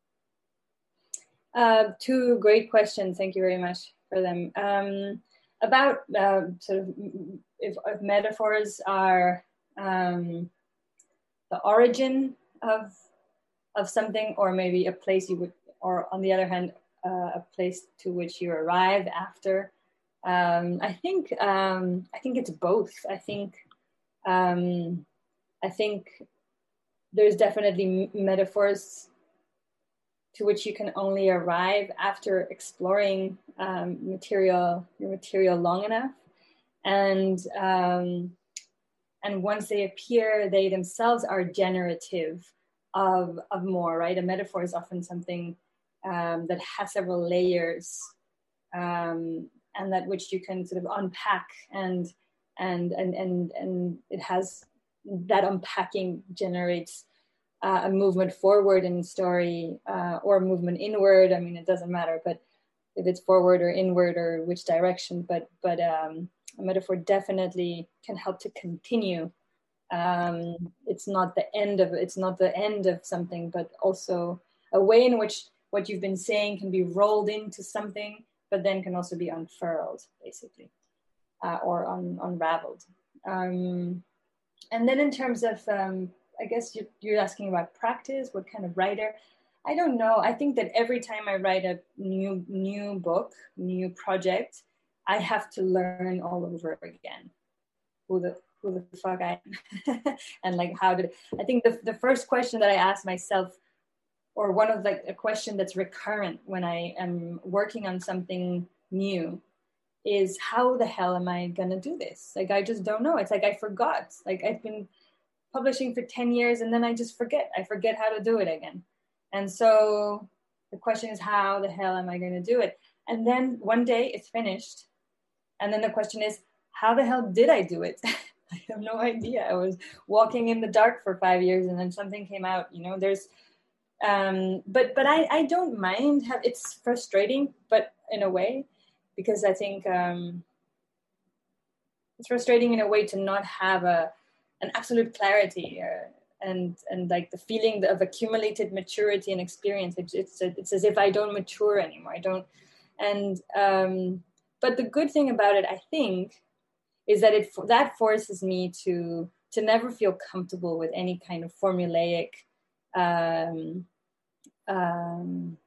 B: Uh, two great questions. Thank you very much for them. Um, about uh, sort of if, if metaphors are um, the origin of of something, or maybe a place you would, or on the other hand, uh, a place to which you arrive after. Um, I think um, I think it's both. I think um, I think there's definitely metaphors to which you can only arrive after exploring um, material, your material long enough. And, um, and once they appear, they themselves are generative of, of more, right? A metaphor is often something um, that has several layers um, and that which you can sort of unpack, and, and, and, and, and it has, that unpacking generates Uh, a movement forward in story uh, or a movement inward. I mean, it doesn't matter, but if it's forward or inward or which direction, but but um, a metaphor definitely can help to continue. Um, it's not the end of it's not the end of something, but also a way in which what you've been saying can be rolled into something, but then can also be unfurled, basically, uh, or un- unraveled. Um, and then in terms of um, I guess you're, you're asking about practice, what kind of writer? I don't know. I think that every time I write a new new book, new project, I have to learn all over again who the who the fuck I am and like how did I think the the first question that I ask myself, or one of like a question that's recurrent when I am working on something new, is how the hell am I gonna do this? Like I just don't know. It's like I forgot. Like I've been publishing for ten years and then I just forget. I forget how to do it again. And so the question is, how the hell am I going to do it? And then one day it's finished. And then the question is, how the hell did I do it? I have no idea. I was walking in the dark for five years and then something came out, you know, there's, um, but, but I, I don't mind. Have, it's frustrating, but in a way, because I think um, it's frustrating in a way to not have a, an absolute clarity or, and, and like the feeling of accumulated maturity and experience. It's, it's, it's as if I don't mature anymore. I don't, and, um, but the good thing about it, I think, is that it that forces me to to never feel comfortable with any kind of formulaic um, um,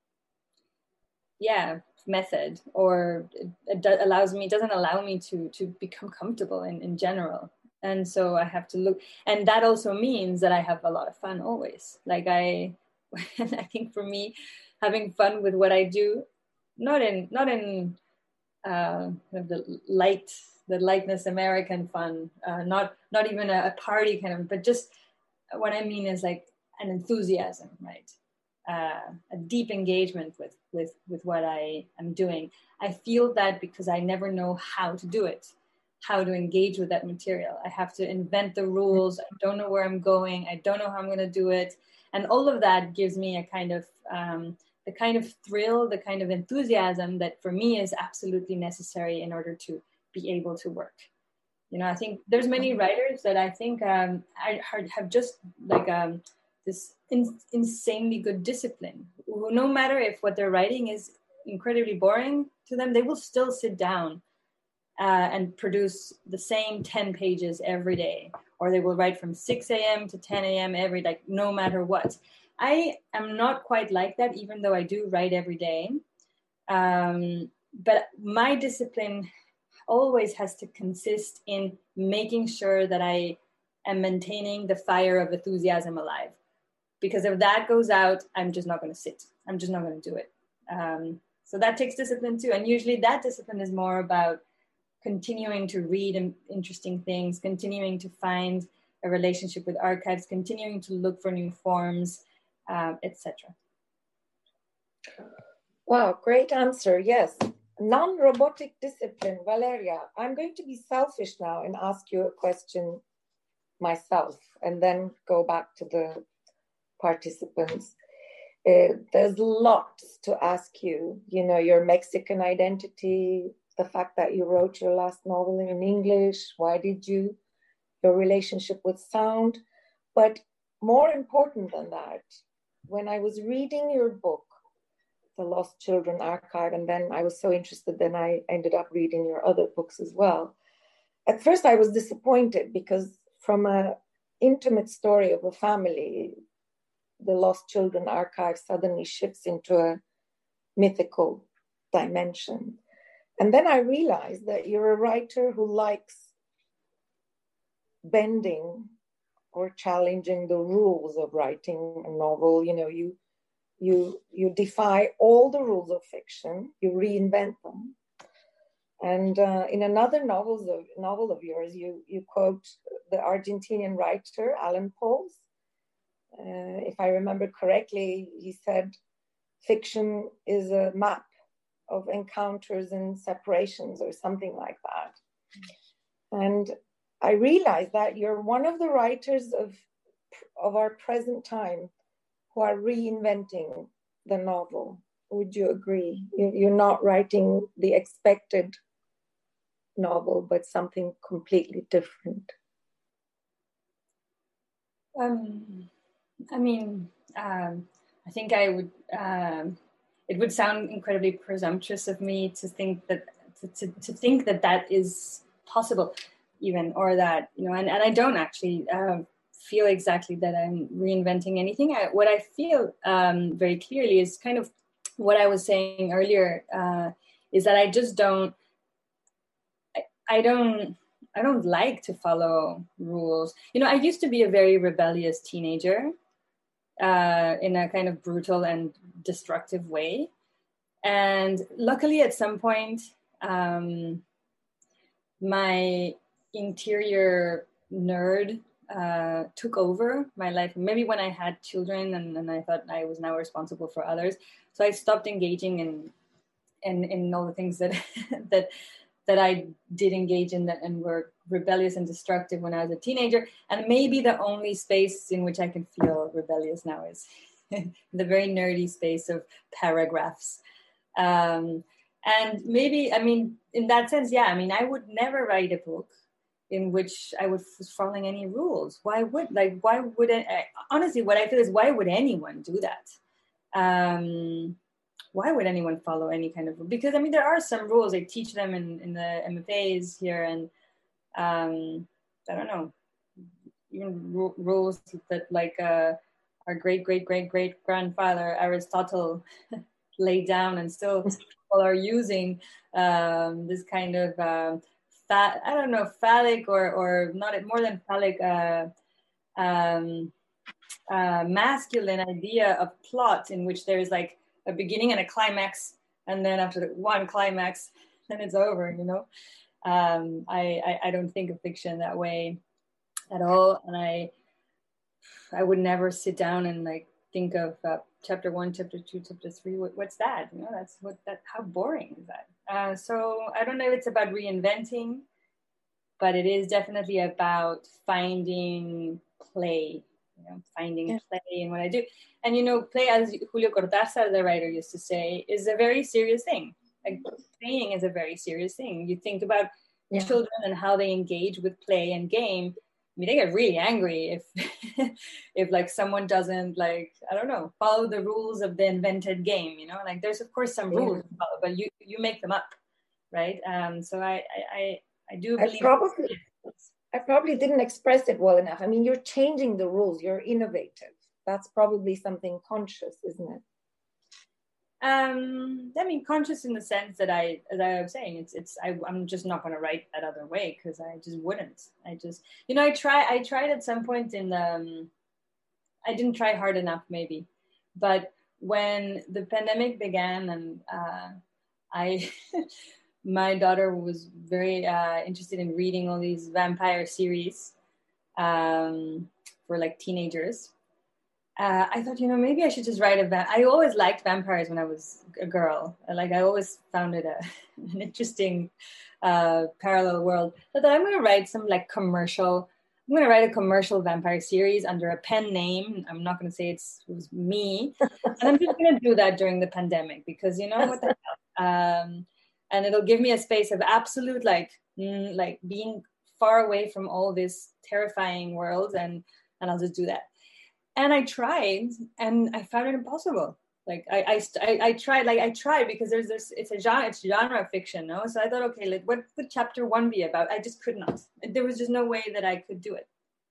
B: yeah method, or it, it do, allows me doesn't allow me to to become comfortable in, in general. And so I have to look, and that also means that I have a lot of fun always. Like I I think for me, having fun with what I do, not in not in uh, the light the lightness American fun, uh, not not even a, a party kind of, but just what I mean is like an enthusiasm, right? Uh, a deep engagement with with with what I am doing. I feel that because I never know how to do it, how to engage with that material. I have to invent the rules. I don't know where I'm going. I don't know how I'm going to do it, and all of that gives me a kind of um, the kind of thrill, the kind of enthusiasm that for me is absolutely necessary in order to be able to work. You know, I think there's many writers that I think um, I have just like um, this in, insanely good discipline, who no matter if what they're writing is incredibly boring to them, they will still sit down uh, and produce the same ten pages every day, or they will write from six a.m. to ten a.m. every, like no matter what. I am not quite like that, even though I do write every day. Um, but my discipline always has to consist in making sure that I am maintaining the fire of enthusiasm alive. Because if that goes out, I'm just not going to sit. I'm just not going to do it. Um, so that takes discipline too. And usually that discipline is more about continuing to read interesting things, continuing to find a relationship with archives, continuing to look for new forms, um, et cetera.
I: Wow, great answer. Yes. Non-robotic discipline. Valeria, I'm going to be selfish now and ask you a question myself and then go back to the participants. Uh, there's lots to ask you, you know, your Mexican identity, the fact that you wrote your last novel in English, why did you, your relationship with sound. But more important than that, when I was reading your book, The Lost Children Archive, and then I was so interested, then I ended up reading your other books as well. At first I was disappointed because from an intimate story of a family, The Lost Children Archive suddenly shifts into a mythical dimension. And then I realized that you're a writer who likes bending or challenging the rules of writing a novel. You know, you You you defy all the rules of fiction, you reinvent them. And uh, in another novels of, novel of yours, you, you quote the Argentinian writer, Alan Pauls. Uh, if I remember correctly, he said, fiction is a map of encounters and separations or something like that. And I realized that you're one of the writers of, of our present time who are reinventing the novel. Would you agree? You're not writing the expected novel, but something completely different.
B: Um, I mean, um, I think I would, um, it would sound incredibly presumptuous of me to think that, to, to, to think that that is possible even, or that, you know, and, and I don't actually, uh, feel exactly that I'm reinventing anything. I, what I feel um, very clearly is kind of what I was saying earlier, uh, is that I just don't, I, I don't, I don't like to follow rules. You know, I used to be a very rebellious teenager uh, in a kind of brutal and destructive way. And luckily at some point, um, my interior nerd Uh, took over my life. Maybe when I had children and, and I thought I was now responsible for others. So I stopped engaging in in, in all the things that that that I did engage in that and were rebellious and destructive when I was a teenager. And maybe the only space in which I can feel rebellious now is the very nerdy space of paragraphs. Um, and maybe, I mean, in that sense, yeah, I mean, I would never write a book in which I was following any rules. Why would, like, why would, I, honestly, what I feel is, why would anyone do that? Um, why would anyone follow any kind of rule? Because, I mean, there are some rules. They teach them in, in the M F As here. And um, I don't know, even r- rules that like uh, our great, great, great, great grandfather Aristotle laid down, and still people are using um, this kind of, um, fa- I don't know, phallic or, or not more than phallic, uh, um, uh, masculine idea of plot in which there is like a beginning and a climax, and then after the one climax, then it's over, you know. Um, I, I, I don't think of fiction that way at all. And I I would never sit down and like think of uh, chapter one, chapter two, chapter three. What, what's that? You know, that's what that, how boring is that? Uh, so I don't know if it's about reinventing, but it is definitely about finding play, you know, finding yeah. play in what I do. And, you know, play, as Julio Cortázar, the writer, used to say, is a very serious thing. Like, playing is a very serious thing. You think about yeah. children and how they engage with play and game. I mean, they get really angry if, if like someone doesn't, like, I don't know, follow the rules of the invented game, you know? Like, there's, of course, some rules yeah. to follow, but you, you make them up, right? Um, so I, I, I, I do believe...
I: I probably, I probably didn't express it well enough. I mean, you're changing the rules. You're innovative. That's probably something conscious, isn't it?
B: Um, I mean, conscious in the sense that I, as I was saying, it's, it's, I, I'm just not going to write that other way because I just wouldn't. I just, you know, I try, I tried at some point in the, um, I didn't try hard enough maybe, but when the pandemic began and uh, I, my daughter was very uh, interested in reading all these vampire series um, for like teenagers. Uh, I thought, you know, maybe I should just write a va- I always liked vampires when I was a girl. Like, I always found it a, an interesting uh, parallel world. So I thought, I'm going to write some, like, commercial, I'm going to write a commercial vampire series under a pen name. I'm not going to say it's, it was me. And I'm just going to do that during the pandemic because, you know, what the hell? Um, and it'll give me a space of absolute, like, mm, like being far away from all this terrifying world, and, and I'll just do that. And I tried, and I found it impossible. Like I, I, I tried, like I tried because there's this. It's a genre, it's genre fiction, no. So I thought, okay, like what would chapter one be about? I just could not. There was just no way that I could do it.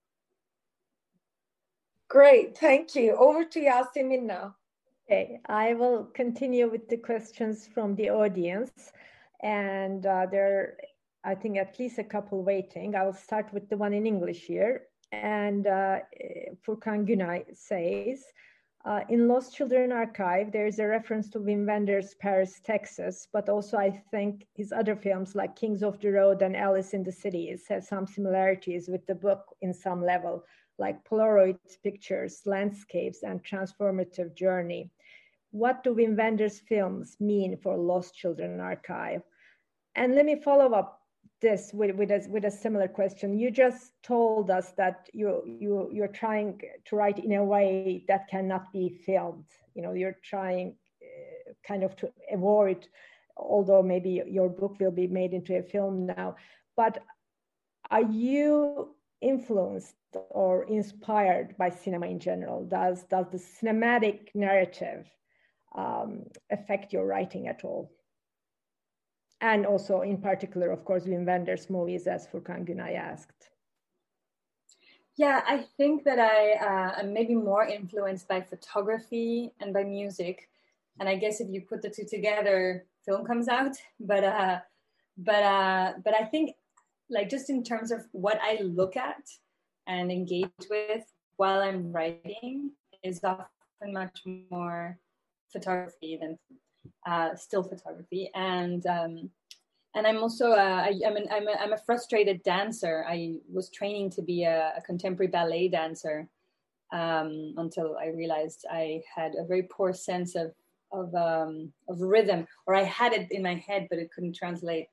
I: Great, thank you. Over to Yasemin now.
A: Okay, I will continue with the questions from the audience, and uh, there, are, I think, at least a couple waiting. I will start with the one in English here. And uh, Furkan Günay says, uh, in Lost Children Archive, there is a reference to Wim Wenders' Paris, Texas, but also I think his other films like Kings of the Road and Alice in the Cities have some similarities with the book in some level, like Polaroid pictures, landscapes, and transformative journey. What do Wim Wenders' films mean for Lost Children Archive? And let me follow up this with, with, a, with a similar question. You just told us that you, you, you're trying to write in a way that cannot be filmed. You know, you're trying uh, kind of to avoid, although maybe your book will be made into a film now, but are you influenced or inspired by cinema in general? Does, does the cinematic narrative um, affect your writing at all? And also, in particular, of course, Wim Wenders' movies, as Furkan Günay asked.
B: Yeah, I think that I uh, am maybe more influenced by photography and by music. And I guess if you put the two together, film comes out. But uh, but uh, but I think, like, just in terms of what I look at and engage with while I'm writing is often much more photography than Uh, still photography, and um, and I'm also uh, I, I'm, an, I'm, a, I'm a frustrated dancer. I was training to be a, a contemporary ballet dancer um, until I realized I had a very poor sense of of um, of rhythm, or I had it in my head, but it couldn't translate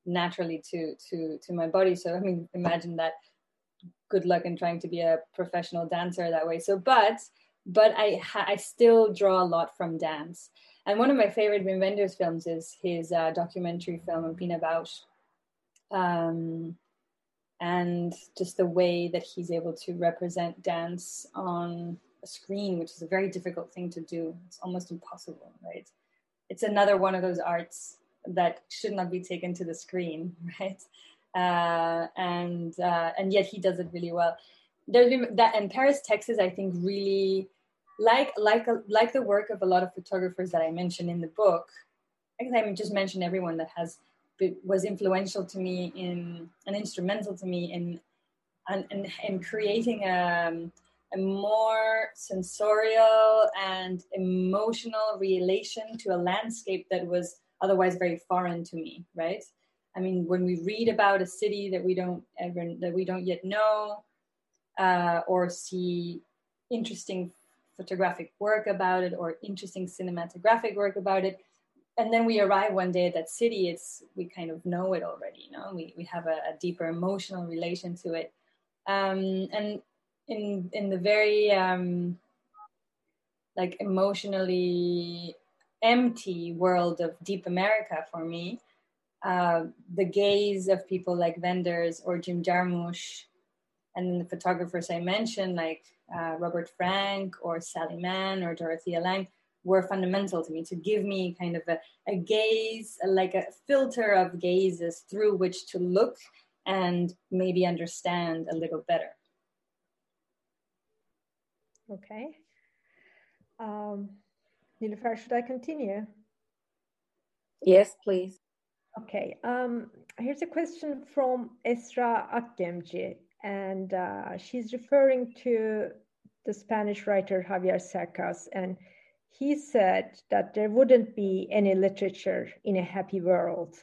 B: naturally to to to my body. So I mean, imagine that. Good luck in trying to be a professional dancer that way. So, but but I ha- I still draw a lot from dance. And one of my favorite Wim Wenders films is his uh, documentary film Pina Bausch. Um, and just the way that he's able to represent dance on a screen, which is a very difficult thing to do. It's almost impossible, right? It's another one of those arts that should not be taken to the screen, right? Uh, and uh, and yet he does it really well. There's been that, and Paris, Texas, I think really like like like the work of a lot of photographers that I mentioned in the book. I guess I just mentioned everyone that has was influential to me in and instrumental to me in and in, in, in creating a, a more sensorial and emotional relation to a landscape that was otherwise very foreign to me, right? I mean, when we read about a city that we don't ever that we don't yet know, uh, or see interesting photographic work about it, or interesting cinematographic work about it, and then we arrive one day at that city, it's we kind of know it already. You know, we we have a, a deeper emotional relation to it, um, and in in the very um, like emotionally empty world of Deep America for me. Uh, the gaze of people like Wenders or Jim Jarmusch, and then the photographers I mentioned, like uh, Robert Frank or Sally Mann or Dorothea Lange, were fundamental to me, to give me kind of a, a gaze, like a filter of gazes through which to look and maybe understand a little better.
A: Okay. Um, Nilüfer, should I continue?
I: Yes, please.
A: Okay, um, here's a question from Esra Akgemci, and uh, she's referring to the Spanish writer Javier Cercas, and he said that there wouldn't be any literature in a happy world.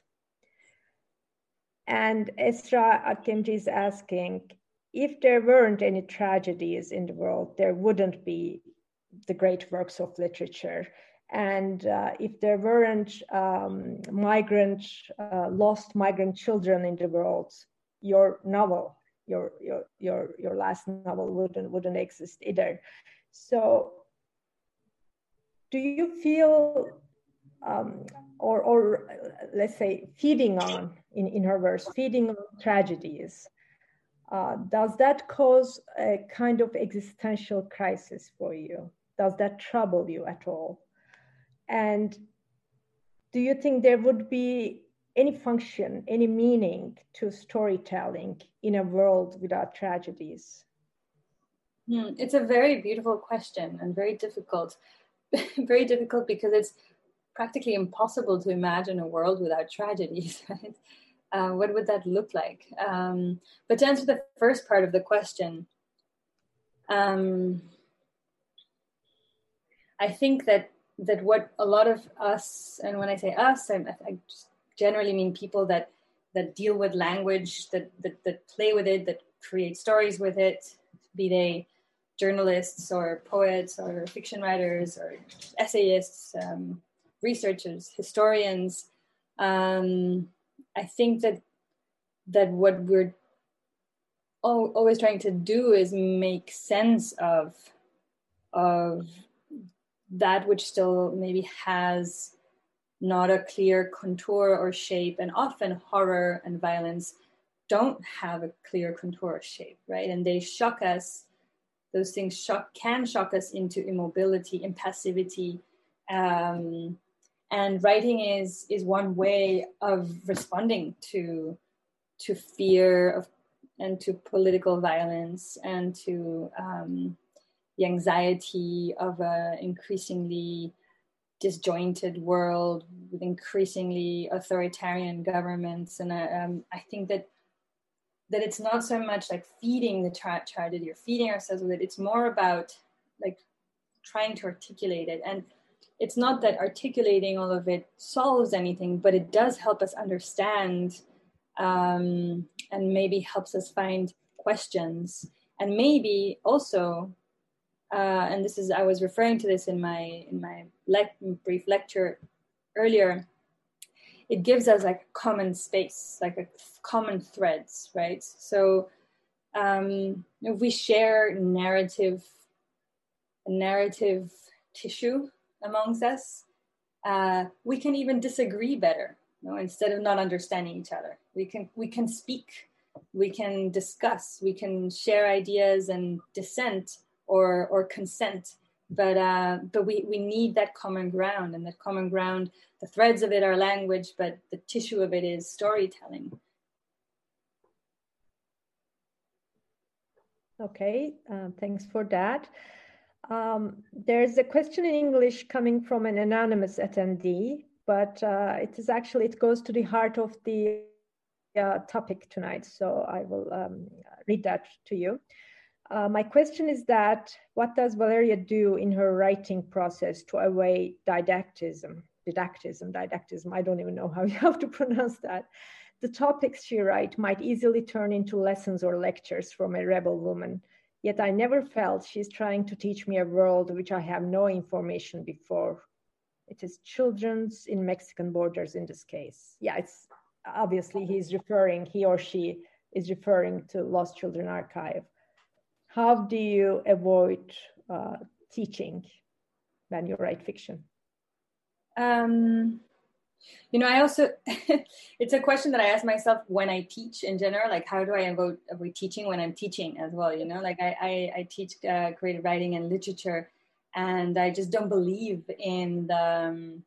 A: And Esra Akgemci is asking, if there weren't any tragedies in the world, there wouldn't be the great works of literature. And uh, if there weren't um, migrant, uh, lost migrant children in the world, your novel, your your your your last novel wouldn't wouldn't exist either. So, do you feel, um, or or uh, let's say, feeding on in in her verse, feeding on tragedies? Uh, does that cause a kind of existential crisis for you? Does that trouble you at all? And do you think there would be any function, any meaning to storytelling in a world without tragedies?
B: Hmm, it's a very beautiful question and very difficult. Very difficult because it's practically impossible to imagine a world without tragedies, right? Uh, what would that look like? Um, but to answer the first part of the question, um, I think that that what a lot of us, and when I say us, I, I just generally mean people that that deal with language, that, that that play with it, that create stories with it, be they journalists or poets or fiction writers or essayists, um, researchers, historians. Um, I think that that what we're always trying to do is make sense of of that which still maybe has not a clear contour or shape, and often horror and violence don't have a clear contour or shape, right? And they shock us. Those things shock can shock us into immobility, impassivity, um, and writing is is one way of responding to to fear of and to political violence and to um, the anxiety of an increasingly disjointed world with increasingly authoritarian governments. And uh, um, I think that that it's not so much like feeding the tra- tragedy or feeding ourselves with it. It's more about like trying to articulate it. And it's not that articulating all of it solves anything, but it does help us understand um, and maybe helps us find questions. And maybe also, uh, and this is, I was referring to this in my in my le- brief lecture earlier, it gives us like a common space, like a common threads, right? So um, if we share narrative, narrative tissue amongst us, uh, we can even disagree better. You know, instead of not understanding each other, we can we can speak, we can discuss, we can share ideas and dissent or or consent. But uh, but we, we need that common ground, and that common ground, the threads of it are language, but the tissue of it is storytelling.
A: Okay, uh, thanks for that. Um, there's a question in English coming from an anonymous attendee, but uh, it is actually, it goes to the heart of the uh, topic tonight. So I will um, read that to you. Uh, my question is that, what does Valeria do in her writing process to avoid didactism, didactism, didactism, I don't even know how you have to pronounce that. The topics she writes might easily turn into lessons or lectures from a rebel woman. Yet I never felt she's trying to teach me a world which I have no information before. It is children's in Mexican borders in this case. Yeah, it's obviously he's referring, he or she is referring to Lost Children Archive. How do you avoid uh, teaching when you write fiction?
B: Um, you know, I also, it's a question that I ask myself when I teach in general, like how do I avoid, avoid teaching when I'm teaching as well, you know, like I, I, I teach uh, creative writing and literature, and I just don't believe in the, um,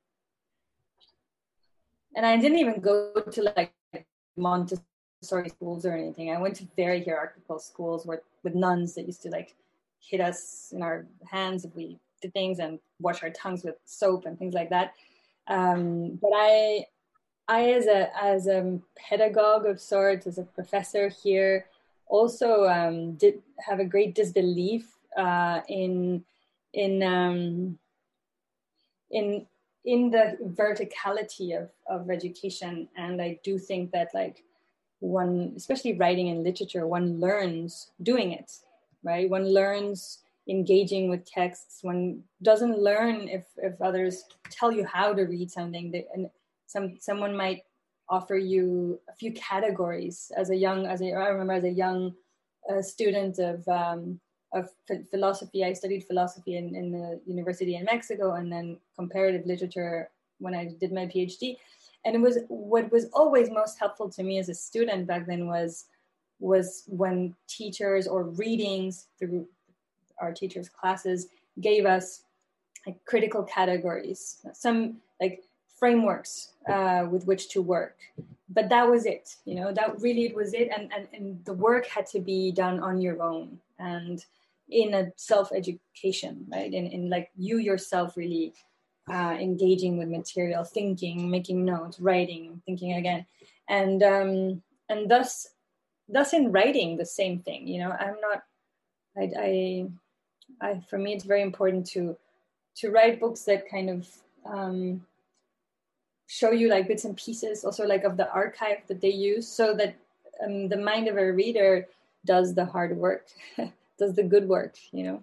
B: and I didn't even go to like Montessori schools or anything. I went to very hierarchical schools where, with nuns that used to like hit us in our hands if we did things and wash our tongues with soap and things like that. Um, but I, I as a as a pedagogue of sorts, as a professor here, also um, did have a great disbelief uh, in in um, in in the verticality of of education, and I do think that like one, especially writing and literature, one learns doing it, right? One learns engaging with texts. One doesn't learn if, if others tell you how to read something. They, and some someone might offer you a few categories. As a young, as a, I remember as a young uh, student of um, of philosophy, I studied philosophy in, in the university in Mexico, and then comparative literature when I did my PhD. And it was what was always most helpful to me as a student back then was was when teachers or readings through our teachers' classes gave us like critical categories, some like frameworks uh, with which to work. But that was it, you know, that really it was it. And, and, and the work had to be done on your own and in a self-education, right? In, in like you yourself really uh, engaging with material, thinking, making notes, writing, thinking again. And, um, and thus, thus in writing the same thing, you know, I'm not, I, I, I, for me, it's very important to to write books that kind of um, show you like bits and pieces, also like of the archive that they use, so that um, the mind of a reader does the hard work, does the good work, you know.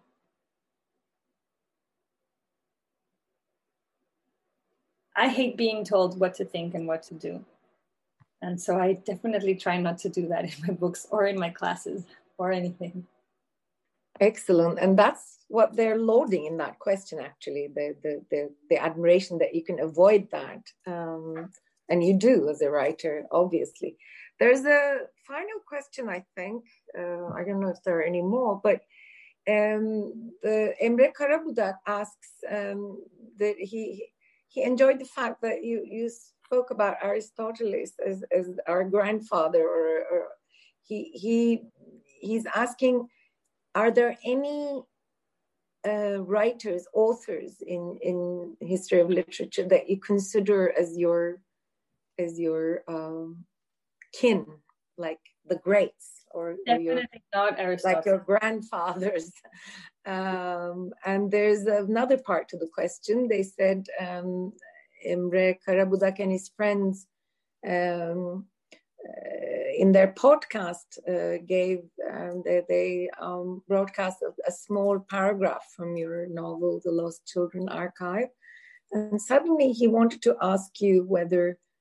B: I hate being told what to think and what to do. And so I definitely try not to do that in my books or in my classes or anything.
I: Excellent. And that's what they're loading in that question, actually, the the the, the admiration that you can avoid that. Um, and you do as a writer, obviously. There's a final question, I think. Uh, I don't know if there are any more, but um, the Emre Karabudak asks um, that he he enjoyed the fact that you, you spoke about Aristotle as, as our grandfather, or, or he he he's asking, are there any uh, writers, authors in, in history of literature that you consider as your as your um, kin, like the greats, or, or your,
B: not Aristotle,
I: like your grandfathers? Um, and there's another part to the question. They said um, Emre Karabudak and his friends um, Uh, in their podcast uh, gave um, they, they um, broadcast a, a small paragraph from your novel The Lost Children Archive, and suddenly he wanted to ask you whether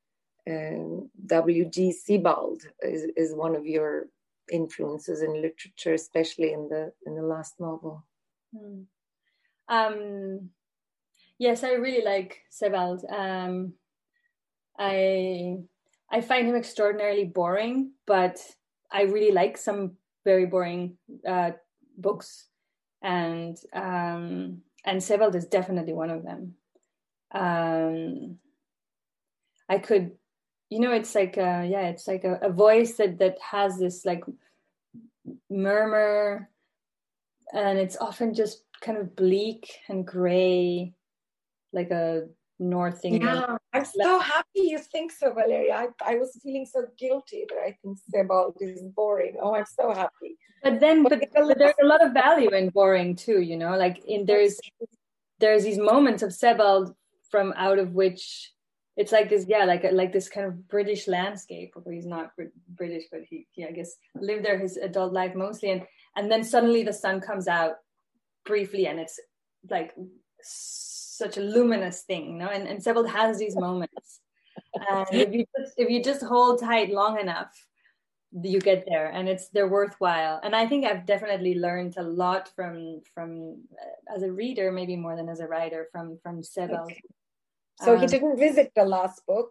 I: um, W G Sebald is, is one of your influences in literature, especially in the in the last novel.
B: Hmm. Um, yes, I really like Sebald. Um, I I find him extraordinarily boring, but I really like some very boring uh, books, and um, and Sebald is definitely one of them. Um, I could, you know, it's like a, yeah, it's like a, a voice that that has this like murmur, and it's often just kind of bleak and gray, like a North England.
I: Yeah, I'm so happy you think so, Valeria. I, I was feeling so guilty that I think Sebald is boring. Oh, I'm so happy.
B: But then, but, but there's a lot of value in boring too, you know, like in there's there's these moments of Sebald from out of which it's like this, yeah, like like this kind of British landscape. Although he's not British, but he, he I guess lived there his adult life mostly, and and then suddenly the sun comes out briefly, and it's like such a luminous thing, you know. And and Sebald has these moments, and if you just, if you just hold tight long enough, you get there, and it's they're worthwhile. And I think I've definitely learned a lot from from uh, as a reader, maybe more than as a writer, from from Sebald.
I: Okay. So
B: um,
I: he didn't visit the last book?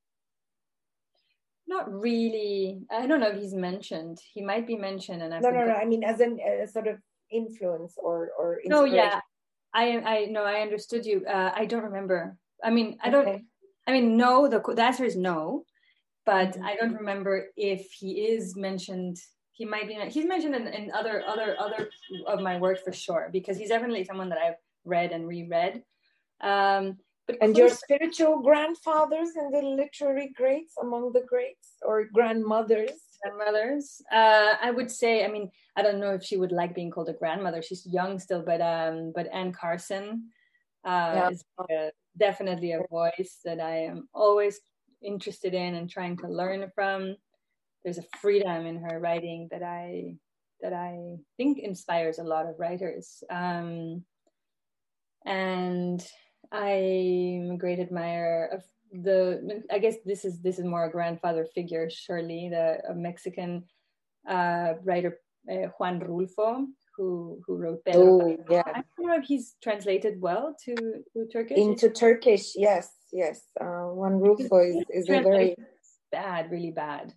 B: Not really. I don't know if he's mentioned. He might be mentioned, and I
I: no, no, no. I mean, as an a sort of influence or or
B: no,
I: inspiration.
B: yeah. I I no, I understood you. Uh, I don't remember. I mean, I don't.
I: Okay.
B: I mean, no. The the answer is no. But
I: Mm-hmm.
B: I don't remember if he is mentioned. He might be. He's mentioned in, in other other other of my work for sure, because he's definitely someone that I've read and reread. Um, but
I: and your spiritual grandfathers and the literary greats among the greats, or grandmothers?
B: Grandmothers. Uh, I would say. I mean, I don't know if she would like being called a grandmother. She's young still, but um, but Anne Carson uh,
I: Yeah.
B: is uh, definitely a voice that I am always interested in and trying to learn from. There's a freedom in her writing that I that I think inspires a lot of writers. Um, and I'm a great admirer of the. I guess this is this is more a grandfather figure, surely, the a Mexican uh, writer uh, Juan Rulfo, who who wrote Pedro.
I: Oh, yeah.
B: I don't know if he's translated well to, to Turkish.
I: Into Turkish, yes, yes. Uh, Juan Rulfo is, is a very
B: bad, really bad.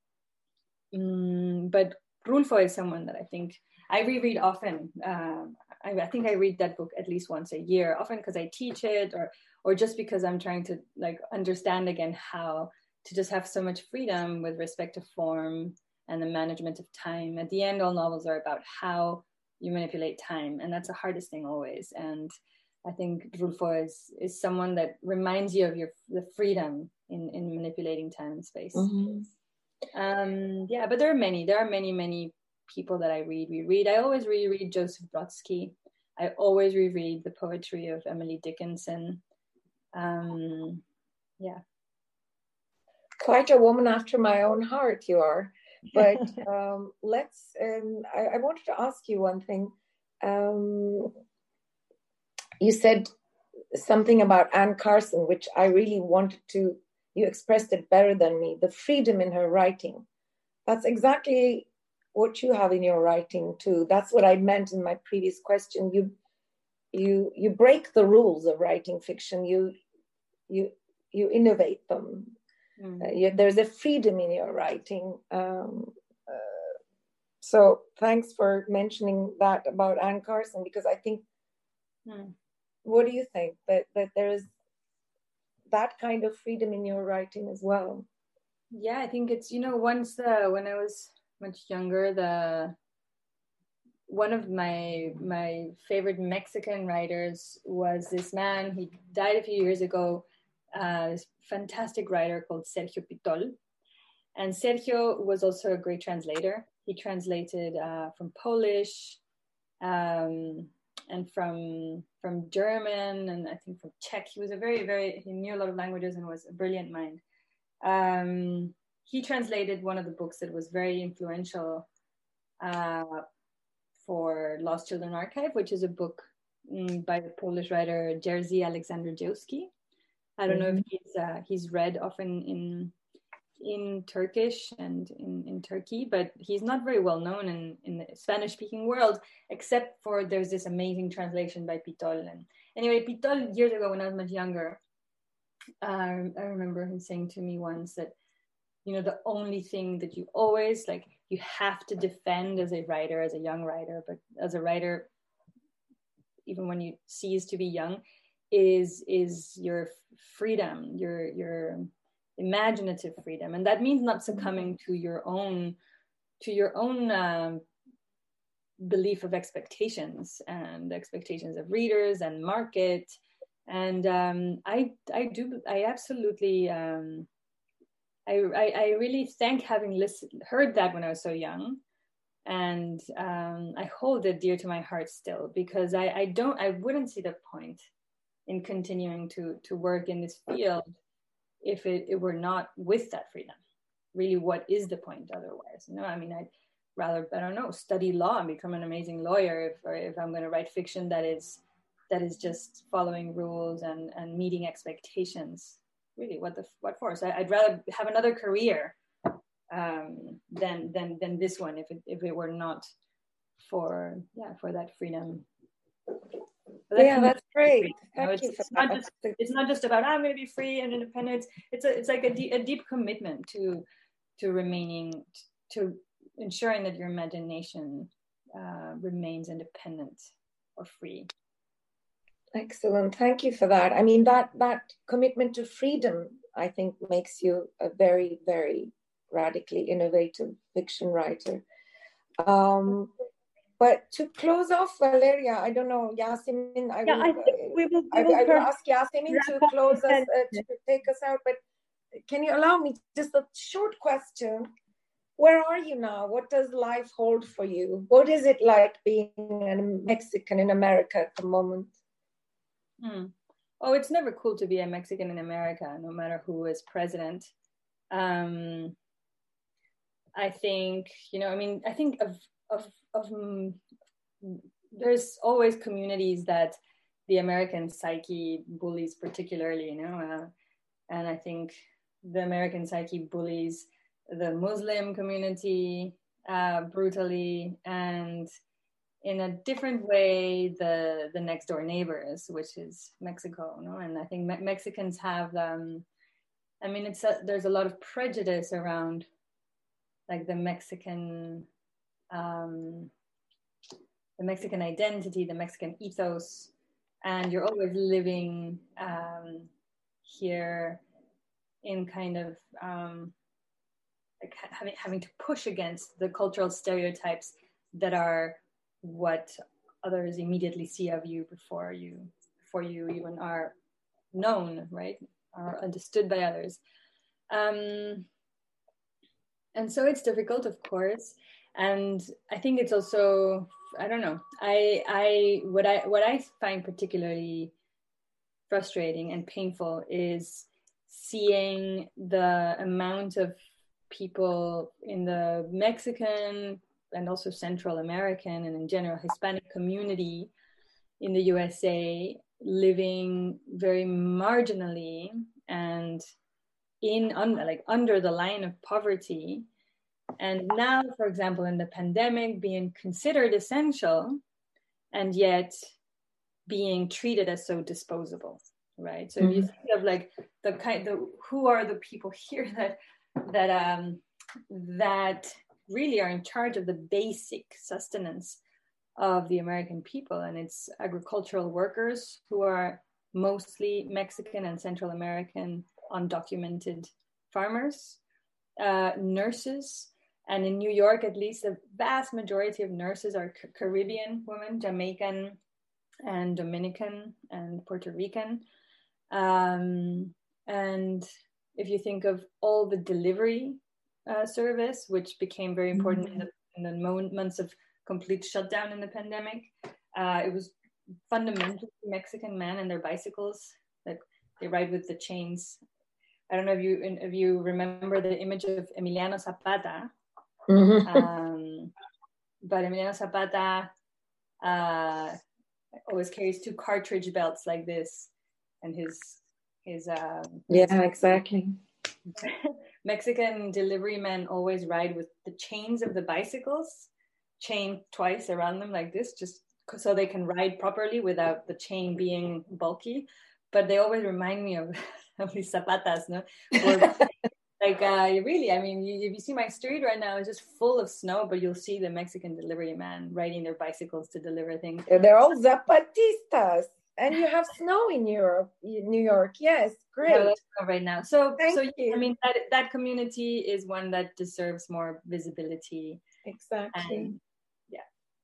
B: Mm, but Rulfo is someone that I think I reread often. Um, I, I think I read that book at least once a year, often because I teach it, or or just because I'm trying to like understand again how to just have so much freedom with respect to form and the management of time. At the end, all novels are about how you manipulate time, and that's the hardest thing always. And I think Rulfo is is someone that reminds you of your the freedom in in manipulating time and space.
I: Mm-hmm.
B: Um, yeah, but there are many. There are many, many people that I read. Reread. I always reread Joseph Brodsky. I always reread the poetry of Emily Dickinson. Um, yeah.
I: Quite a woman after my own heart, you are. But um, let's. Um, I, I wanted to ask you one thing. Um, you said something about Anne Carson, which I really wanted to. You expressed it better than me. The freedom in her writing. That's exactly what you have in your writing too. That's what I meant in my previous question. You, you, you break the rules of writing fiction. You, you, you innovate them. Mm. Uh, you, there's a freedom in your writing. Um, uh, so thanks for mentioning that about Anne Carson, because I think. Mm. What do you think that that there is that kind of freedom in your writing as well?
B: Yeah, I think it's, you know, once the when I was much younger, the one of my my favorite Mexican writers was this man. He died a few years ago. Uh, this fantastic writer called Sergio Pitol, and Sergio was also a great translator. He translated uh, from Polish um, and from from German, and I think from Czech. He was a very very he knew a lot of languages and was a brilliant mind. Um, he translated one of the books that was very influential uh, for Lost Children Archive, which is a book um, by the Polish writer Jerzy Aleksander Dziewski. I don't
I: Mm-hmm.
B: know if he's uh, he's read often in in Turkish and in, in Turkey, but he's not very well known in, in the Spanish-speaking world, except for there's this amazing translation by Pitol. And anyway, Pitol, years ago when I was much younger, uh, I remember him saying to me once that, you know, the only thing that you always, like, you have to defend as a writer, as a young writer, but as a writer, even when you cease to be young, is is your freedom, your your imaginative freedom, and that means not succumbing to your own to your own um, belief of expectations and expectations of readers and market. And um, I I do I absolutely um, I, I I really thank having listened heard that when I was so young, and um, I hold it dear to my heart still, because I I don't I wouldn't see the point in continuing to to work in this field if it, it were not with that freedom. Really, what is the point otherwise? You know, I mean, I'd rather, I don't know, study law and become an amazing lawyer if, or if I'm going to write fiction that is that is just following rules and, and meeting expectations. Really, what the what for? So I'd rather have another career um, than than than this one if it if it were not for yeah for that freedom.
I: That yeah, that's great.
B: You know, it's, it's not just it's not just about I'm going to be free and independent. It's a it's like a, de- a deep commitment to to remaining to ensuring that your imagination uh, remains independent or free.
I: Excellent, thank you for that. I mean, that that commitment to freedom, I think, makes you a very very radically innovative fiction writer. Um, But to close off, Valeria, I don't know, Yasemin, I
A: yeah,
I: will,
A: I think we will, we
I: I,
A: will
I: I will ask Yasemin to close us, uh, to take us out. But can you allow me just a short question? Where are you now? What does life hold for you? What is it like being a Mexican in America at the moment?
B: Hmm. Oh, it's never cool to be a Mexican in America, no matter who is president. Um, I think, you know, I mean, I think of, of, of um, there's always communities that the American psyche bullies particularly, you know, uh, and I think the American psyche bullies the Muslim community uh, brutally, and in a different way, the the next door neighbors, which is Mexico, you know, and I think Me- Mexicans have, um, I mean, it's a, there's a lot of prejudice around like the Mexican, um, the Mexican identity, the Mexican ethos, and you're always living um, here in kind of um, like having having to push against the cultural stereotypes that are what others immediately see of you before you before you even are known, right, are understood by others. Um, and so it's difficult, of course. And I think it's also, I don't know, I, I, what I, what I find particularly frustrating and painful is seeing the amount of people in the Mexican and also Central American and in general Hispanic community in the U S A living very marginally and in un, like under the line of poverty. And now, for example, in the pandemic, being considered essential and yet being treated as so disposable, right? So mm-hmm. if you think of like the kind, the who are the people here that that um that really are in charge of the basic sustenance of the American people, and it's agricultural workers who are mostly Mexican and Central American undocumented farmers, uh, nurses. And in New York, at least, the vast majority of nurses are C- Caribbean women, Jamaican and Dominican and Puerto Rican. Um, and if you think of all the delivery uh, service, which became very important mm-hmm. in, the, in the mo- months of complete shutdown in the pandemic, uh, it was fundamentally Mexican men and their bicycles that they ride with the chains. I don't know if you if you remember the image of Emiliano Zapata. Mm-hmm. Um, but Emiliano Zapata uh, always carries two cartridge belts like this, and his is uh,
I: yeah, exactly.
B: Mexican delivery men always ride with the chains of the bicycles chained twice around them like this, just so they can ride properly without the chain being bulky. But they always remind me of, of these zapatas, no? Or, like, uh, really, I mean, you, if you see my street right now, it's just full of snow, but you'll see the Mexican delivery man riding their bicycles to deliver things.
I: They're all zapatistas. And you have snow in Europe, New York. Yes, great.
B: No, right now. So,
I: Thank
B: so
I: you.
B: I mean, that, that community is one that deserves more visibility.
I: Exactly.
B: And, yeah.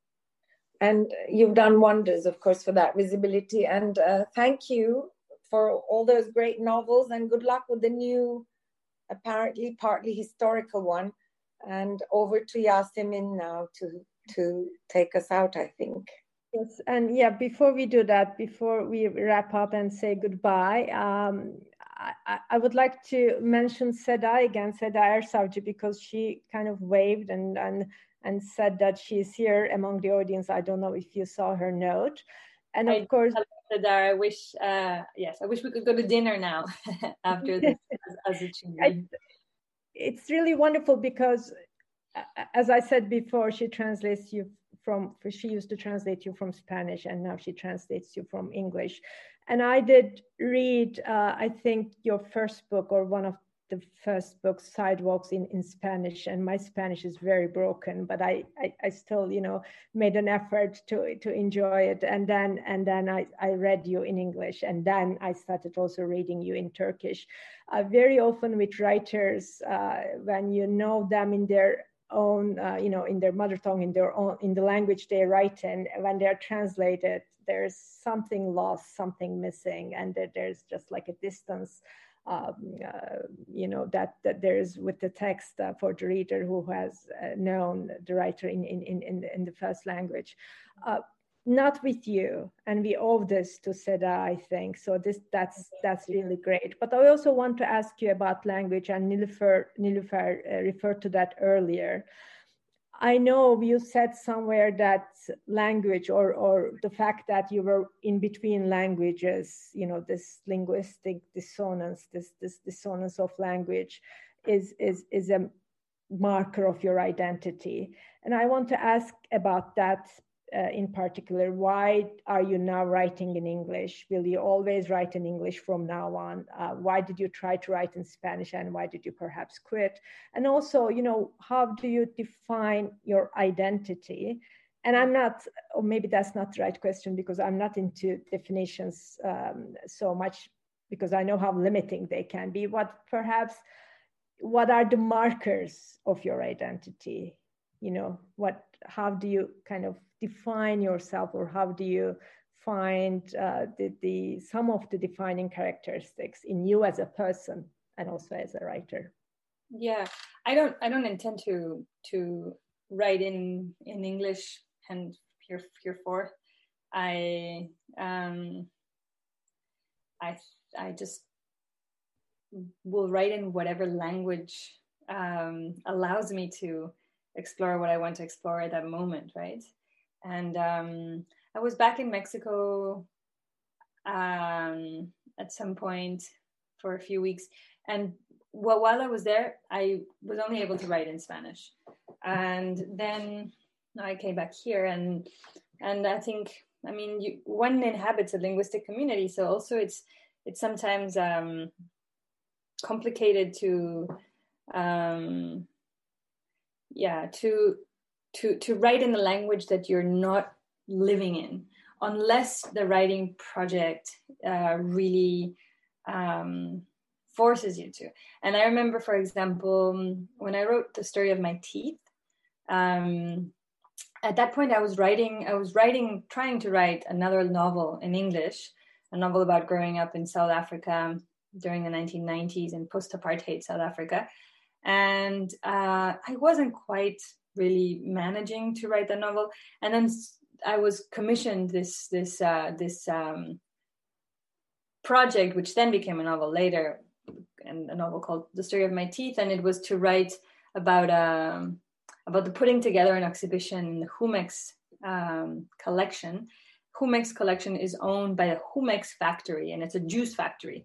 I: And you've done wonders, of course, for that visibility. And uh, thank you for all those great novels, and good luck with the new, apparently partly historical one. And over to Yasemin now to, to take us out, I think.
A: Yes, and yeah, before we do that, before we wrap up and say goodbye, um, I, I would like to mention Seda again, Seda Ersavcı, because she kind of waved and, and, and said that she's here among the audience. I don't know if you saw her note. And of
B: I,
A: course,
B: Seda, I wish, uh, yes, I wish we could go to dinner now after this as, as a team.
A: It's really wonderful because, as I said before, she translates you from, she used to translate you from Spanish, and now she translates you from English. And I did read, uh, I think, your first book, or one of the first books, Sidewalks, in, in Spanish, and my Spanish is very broken, but I, I, I still, you know, made an effort to, to enjoy it. And then, and then I, I read you in English, and then I started also reading you in Turkish. Uh, very often with writers, uh, when you know them in their own, uh, you know, in their mother tongue, in their own, in the language they write in, when they're translated, there's something lost, something missing, and that there's just like a distance, um, uh, you know, that that there's with the text uh, for the reader who has uh, known the writer in in in in the first language. Uh, Not with you, and we owe this to Seda, I think. So this that's that's really great. But I also want to ask you about language, and Nilüfer Nilüfer uh, referred to that earlier. I know you said somewhere that language, or or the fact that you were in between languages, you know, this linguistic dissonance, this this dissonance of language, is is is a marker of your identity. And I want to ask about that. Uh, in particular, why are you now writing in English? Will you always write in English from now on? Uh, why did you try to write in Spanish, and why did you perhaps quit? And also, you know, how do you define your identity? And I'm not, or maybe that's not the right question, because I'm not into definitions um, so much, because I know how limiting they can be. What perhaps, what are the markers of your identity? You know, what, how do you kind of define yourself, or how do you find uh, the, the some of the defining characteristics in you as a person and also as a writer?
B: Yeah, I don't I don't intend to to write in in English and here hereforth. I um I I just will write in whatever language um, allows me to explore what I want to explore at that moment, right? And um, I was back in Mexico um, at some point for a few weeks. And well, while I was there, I was only able to write in Spanish. And then I came back here, and and I think, I mean, you, one inhabits a linguistic community, so also it's it's sometimes um, complicated to, um, yeah, to to to write in the language that you're not living in, unless the writing project uh, really um, forces you to. And I remember, for example, when I wrote The Story of My Teeth, um, at that point I was writing, I was writing, trying to write another novel in English, a novel about growing up in South Africa during the nineteen nineties in post-apartheid South Africa. And uh, I wasn't quite really managing to write the novel. And then I was commissioned this, this, uh, this um, project, which then became a novel later, and a novel called The Story of My Teeth. And it was to write about um, about the putting together an exhibition in the Jumex um, collection. Jumex collection is owned by a Jumex factory, and it's a juice factory.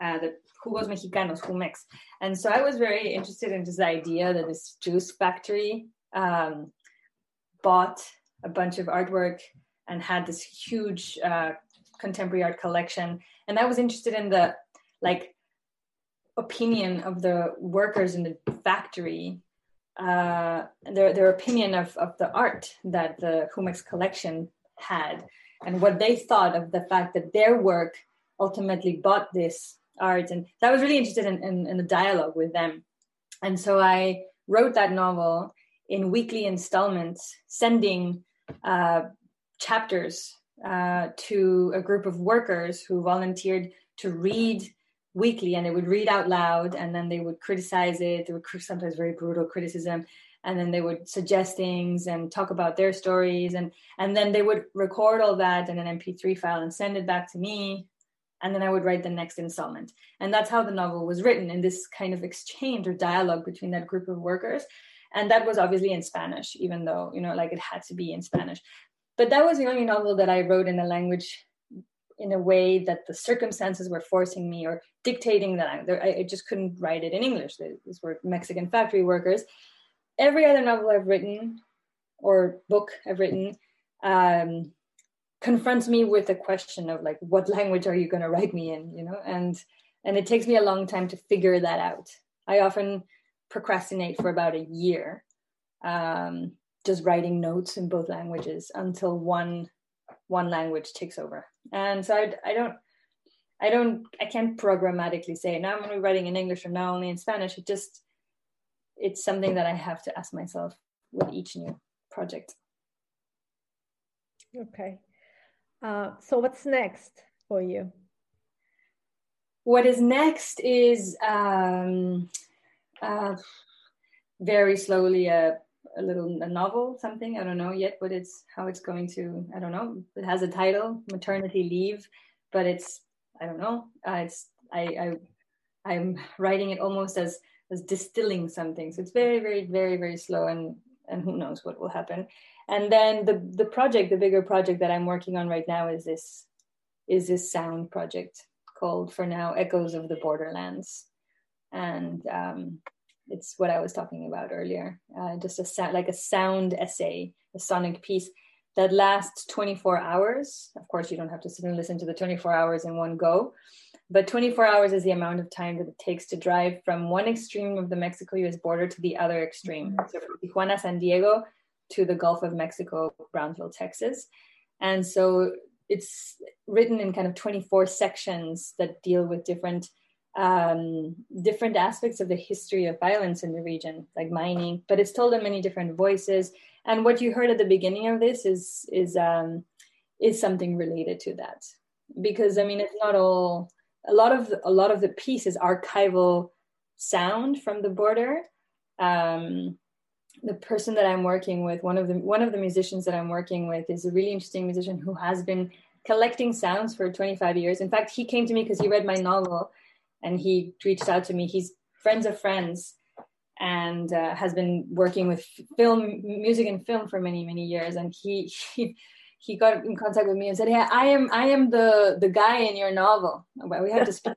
B: uh, the Jugos Mexicanos, Jumex. And so I was very interested in this idea that this juice factory um, bought a bunch of artwork and had this huge uh, contemporary art collection. And I was interested in the like opinion of the workers in the factory, uh, their their opinion of, of the art that the Jumex collection had, and what they thought of the fact that their work ultimately bought this art. And I was really interested in, in, in the dialogue with them. And so I wrote that novel in weekly installments, sending uh, chapters uh, to a group of workers who volunteered to read weekly, and they would read out loud, and then they would criticize it. They would sometimes very brutal criticism, and then they would suggest things and talk about their stories, and and then they would record all that in an M P three file and send it back to me, and then I would write the next installment. And that's how the novel was written, in this kind of exchange or dialogue between that group of workers. And that was obviously in Spanish, even though, you know, like it had to be in Spanish. But that was the only novel that I wrote in a language in a way that the circumstances were forcing me or dictating that I, I just couldn't write it in English. These were Mexican factory workers. Every other novel I've written or book I've written um, confronts me with the question of like, what language are you going to write me in, you know? And and it takes me a long time to figure that out. I often procrastinate for about a year, um, just writing notes in both languages until one one language takes over. And so I, I don't, I don't, I can't programmatically say now I'm going to be writing in English or now only in Spanish. It just, it's something that I have to ask myself with each new project.
A: Okay. Uh, so what's next for you?
B: What is next is um, uh, very slowly a, a little a novel, something, I don't know yet what it's, how it's going to, I don't know. It has a title, Maternity Leave, but it's, I don't know. Uh, it's, I, I, I'm writing it almost as, as distilling something. So it's very, very, very, very slow, and, and who knows what will happen. And then the, the project, the bigger project that I'm working on right now is this, is this sound project called, for now, Echoes of the Borderlands. And um, it's what I was talking about earlier, uh, just a sound, like a sound essay, a sonic piece that lasts twenty-four hours. Of course, you don't have to sit and listen to the twenty-four hours in one go, but twenty-four hours is the amount of time that it takes to drive from one extreme of the Mexico-U S border to the other extreme. So from Tijuana, San Diego to the Gulf of Mexico, Brownsville, Texas. And so it's written in kind of twenty-four sections that deal with different um, different aspects of the history of violence in the region, like mining, but it's told in many different voices. And what you heard at the beginning of this is is um, is something related to that, because I mean, it's not all. A lot of the, a lot of the piece is archival sound from the border. Um, the person that I'm working with, one of the one of the musicians that I'm working with, is a really interesting musician who has been collecting sounds for twenty-five years. In fact, he came to me because he read my novel, and he reached out to me. He's friends of friends, and uh, has been working with film, music and film for many, many years. And he he he got in contact with me and said, "Hey, I am I am the the guy in your novel. We have to speak."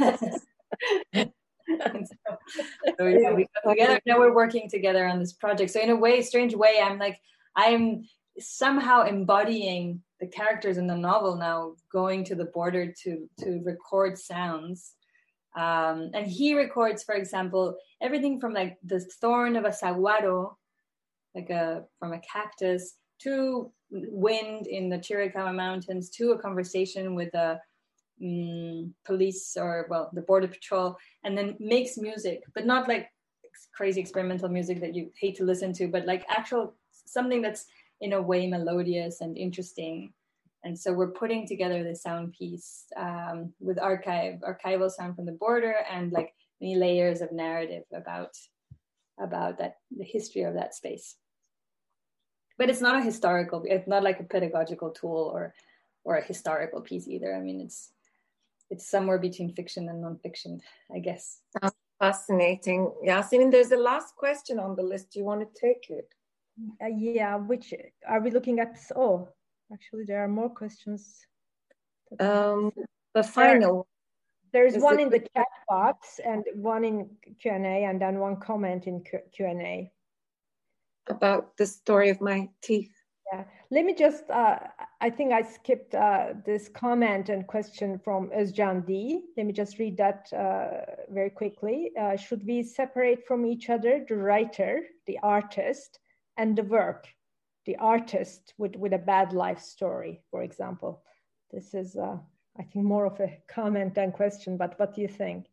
B: so, so yeah, we got together. Now we're working together on this project. So in a way, strange way, I'm like I'm somehow embodying the characters in the novel now, going to the border to to record sounds. Um, and he records, for example, everything from like the thorn of a saguaro, like a from a cactus, to wind in the Chiricahua Mountains, to a conversation with a um, police or, well, the border patrol, and then makes music, but not like crazy experimental music that you hate to listen to, but like actual something that's in a way melodious and interesting. And so we're putting together this sound piece um, with archive, archival sound from the border, and like many layers of narrative about about that, the history of that space. But it's not a historical, it's not like a pedagogical tool or or a historical piece either. I mean, it's it's somewhere between fiction and nonfiction, I guess.
I: Sounds fascinating. Yasemin, there's a last question on the list. Do you want to take it?
A: Uh, yeah, which are we looking at? Oh, actually, there are more questions.
I: Um, the final.
A: There's
I: Is
A: one
I: it
A: in the chat box and one in Q and A, and then one comment in Q and A.
I: About the story of my teeth.
A: Yeah, let me just, uh, I think I skipped uh, this comment and question from Özcan D. Let me just read that uh, very quickly. Uh, should we separate from each other the writer, the artist, and the work, the artist with, with a bad life story, for example? This is, uh, I think, more of a comment than question, but what do you think?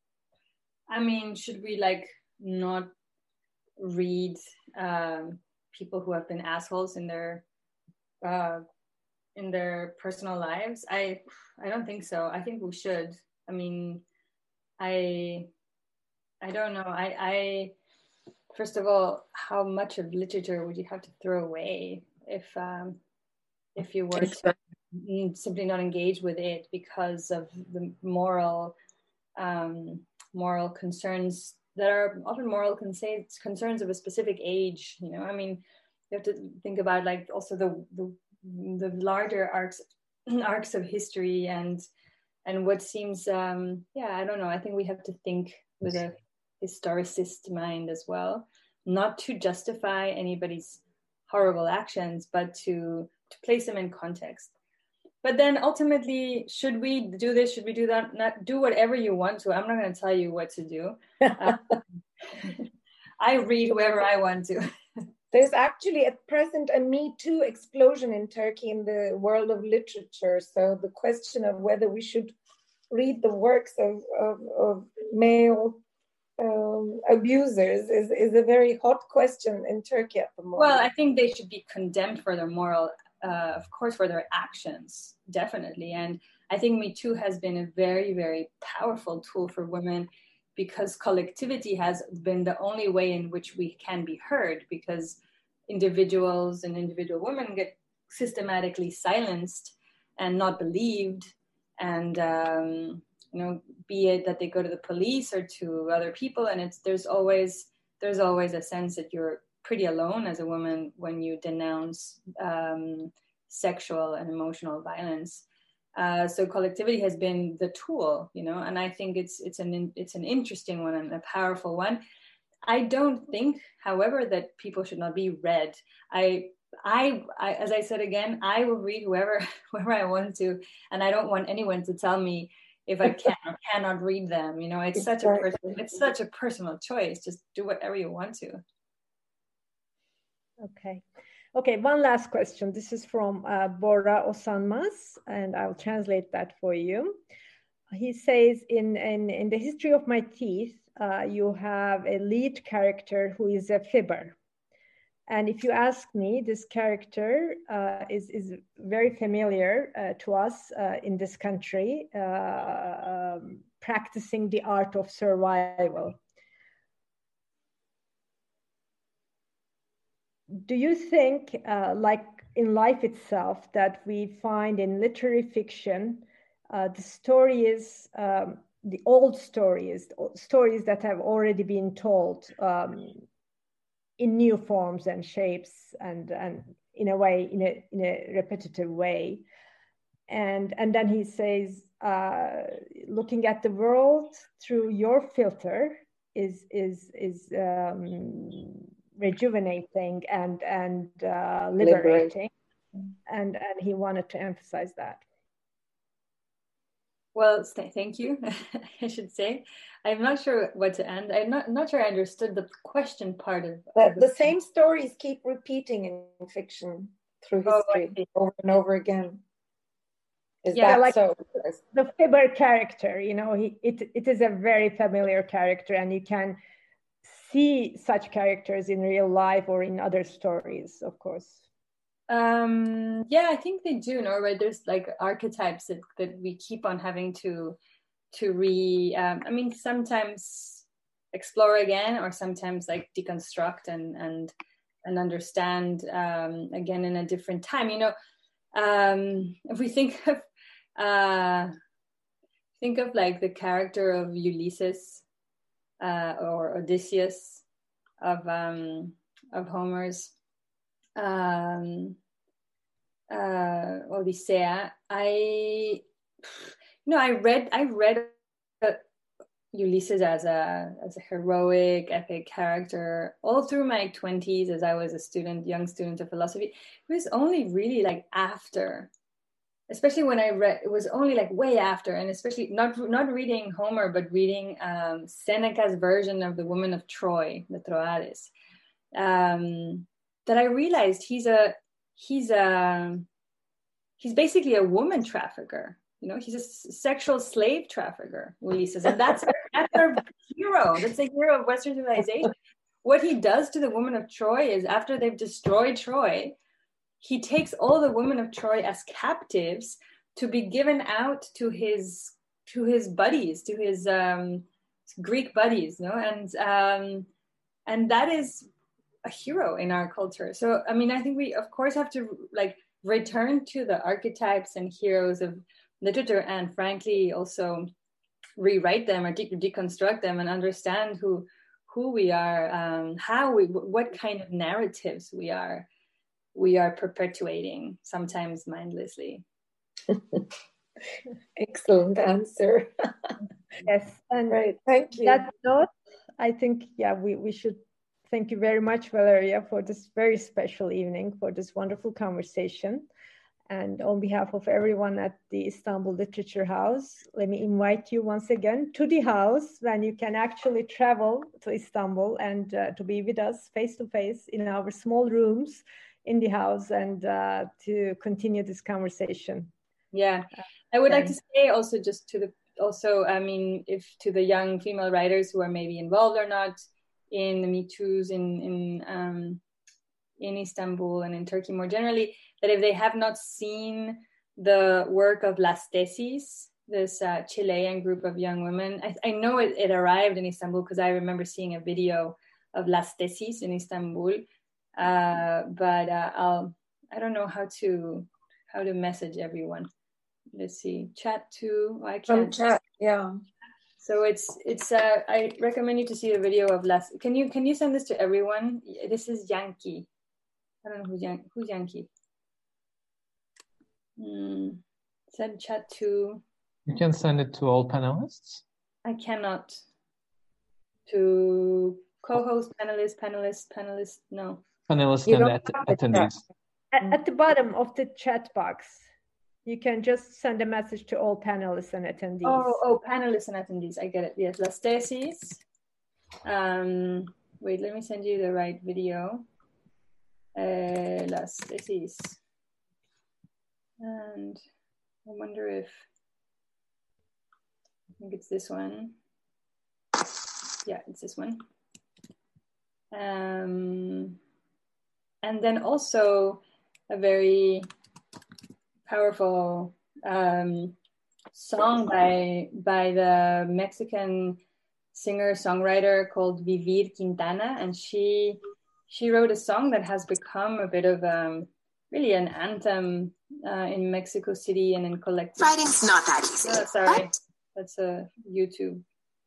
B: I mean, should we like not read um, people who have been assholes in their uh, in their personal lives? I I don't think so. I think we should. I mean, I I don't know. I I first of all, how much of literature would you have to throw away if um, if you were to simply not engage with it because of the moral um, moral concerns that are often moral concerns concerns of a specific age? You know, I mean, you have to think about like also the the, the larger arcs arcs of history and and what seems um, yeah, I don't know. I think we have to think with a historicist mind as well, not to justify anybody's horrible actions, but to to place them in context. But then ultimately, should we do this? Should we do that? Not do whatever you want to. I'm not going to tell you what to do. Uh, I read whoever I want to.
I: There's actually at present a Me Too explosion in Turkey in the world of literature. So the question of whether we should read the works of, of, of male um, abusers is, is a very hot question in Turkey at the moment.
B: Well, I think they should be condemned for their moral Uh, of course, for their actions, definitely. And I think Me Too has been a very, very powerful tool for women because collectivity has been the only way in which we can be heard, because individuals and individual women get systematically silenced and not believed. And, um, you know, be it that they go to the police or to other people, and it's there's always there's always a sense that you're pretty alone as a woman when you denounce um, sexual and emotional violence. Uh, so collectivity has been the tool, you know, and I think it's it's an it's an interesting one and a powerful one. I don't think, however, that people should not be read. I I, I as I said again, I will read whoever whoever I want to, and I don't want anyone to tell me if I can or cannot read them. You know, it's such a personal, it's such a personal choice. Just do whatever you want to.
A: Okay. Okay, one last question. This is from uh, Bora Osanmaz, and I'll translate that for you. He says, in, in, in the history of my teeth, uh, you have a lead character who is a fibber. And if you ask me, this character uh, is, is very familiar uh, to us uh, in this country, uh, um, practicing the art of survival. Do you think, uh, like in life itself, that we find in literary fiction, uh, the stories, um, the old stories, stories that have already been told um, in new forms and shapes, and and in a way, in a in a repetitive way, and and then he says, uh, looking at the world through your filter is is is. Um, rejuvenating and and uh, liberating, and and he wanted to emphasize that.
B: Well, thank you. I should say, I'm not sure what to end. I'm not not sure I understood the question part of,
I: the,
B: of
I: the same stories keep repeating in fiction through history oh, over and over again. Is
A: yeah,
I: that
A: like
I: so?
A: The fibber character, you know, he it it is a very familiar character, and you can see such characters in real life or in other stories, of course.
B: Um, yeah, I think they do, no? Right? There's like archetypes that, that we keep on having to to re. Um, I mean, sometimes explore again, or sometimes like deconstruct and and and understand um, again in a different time. You know, um, if we think of uh, think of like the character of Ulysses. Uh, or Odysseus of um, of Homer's um, uh, Odyssea. I, you know, I read I read Ulysses as a as a heroic, epic character all through my twenties, as I was a student, young student of philosophy. It was only really like after, especially when I read, it was only like way after, and especially not not reading Homer, but reading um, Seneca's version of the Woman of Troy, the Troades, um, that I realized he's a he's a he's basically a woman trafficker. You know, he's a sexual slave trafficker, Ulysses, and that's that's our hero. That's the hero of Western civilization. What he does to the woman of Troy is, after they've destroyed Troy, he takes all the women of Troy as captives to be given out to his to his buddies, to his um, Greek buddies. You know, and um, and that is a hero in our culture. So, I mean, I think we, of course, have to like return to the archetypes and heroes of literature, and frankly also rewrite them or de- deconstruct them and understand who who we are, um, how we, what kind of narratives we are we are perpetuating, sometimes mindlessly.
I: Excellent answer.
A: Yes, and
I: right, thank you.
A: That note, I think, yeah, we, we should thank you very much, Valeria, for this very special evening, for this wonderful conversation. And on behalf of everyone at the Istanbul Literature House, let me invite you once again to the house, when you can actually travel to Istanbul and uh, to be with us face to face in our small rooms in the house, and uh, to continue this conversation.
B: Yeah, I would like to say also, just to the, also, I mean, if to the young female writers who are maybe involved or not in the Me Too's in, in, um, in Istanbul and in Turkey more generally, that if they have not seen the work of Las Tesis, this uh, Chilean group of young women, I, I know it, it arrived in Istanbul because I remember seeing a video of Las Tesis in Istanbul, uh, but uh, I'll, I don't know how to how to message everyone. Let's see, chat to, I can't.
I: From chat, yeah.
B: So it's it's. Uh, I recommend you to see the video of Las. Can you can you send this to everyone? This is Yankee. I don't know who's Yan- who's Yankee. Mm, send chat to.
C: You can send it to all panelists.
B: I cannot. To co-host, panelists, panelists, panelists. No.
C: Panelists and att- attendees.
A: At, at the bottom of the chat box, you can just send a message to all panelists and attendees.
B: Oh, oh, panelists and attendees. I get it. Yes, Las Tesis. Um, wait, let me send you the right video. Uh, Las Tesis. And I wonder if, I think it's this one. Yeah, it's this one. Um, and then also a very powerful um, song by by the Mexican singer-songwriter called Vivir Quintana, and she she wrote a song that has become a bit of um, really an anthem uh, in Mexico City and in collective.
F: Writing's not that easy.
B: Oh, sorry, but... that's a YouTube.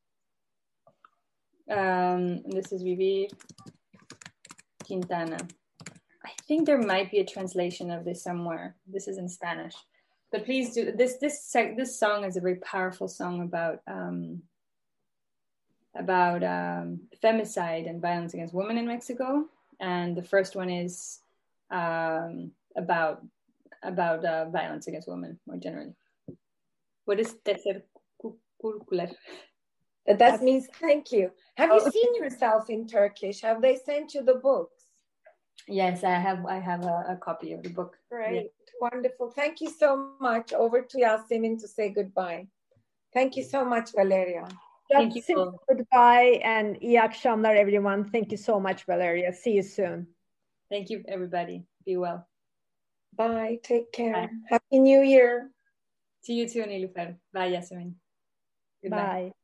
B: Um, this is Vivir Quintana. I think there might be a translation of this somewhere. This is in Spanish, but please do this. This this song is a very powerful song about um, about um, femicide and violence against women in Mexico. And the first one is um, about about uh, violence against women more generally. What is tercer curricular?
I: That means thank you. Have you seen yourself in Turkish? Have they sent you the books?
B: Yes, I have. I have a, a copy of the book.
I: Great,
B: yeah.
I: Wonderful. Thank you so much. Over to Yasemin to say goodbye. Thank you so much, Valeria.
B: Thank you.
A: Goodbye and iyi akşamlar, everyone. Thank you so much, Valeria. See you soon.
B: Thank you, everybody. Be well.
I: Bye. Take care.
B: Bye.
I: Happy New Year.
B: See you too, Nilufer. Bye, Yasemin.
A: Goodbye. Bye.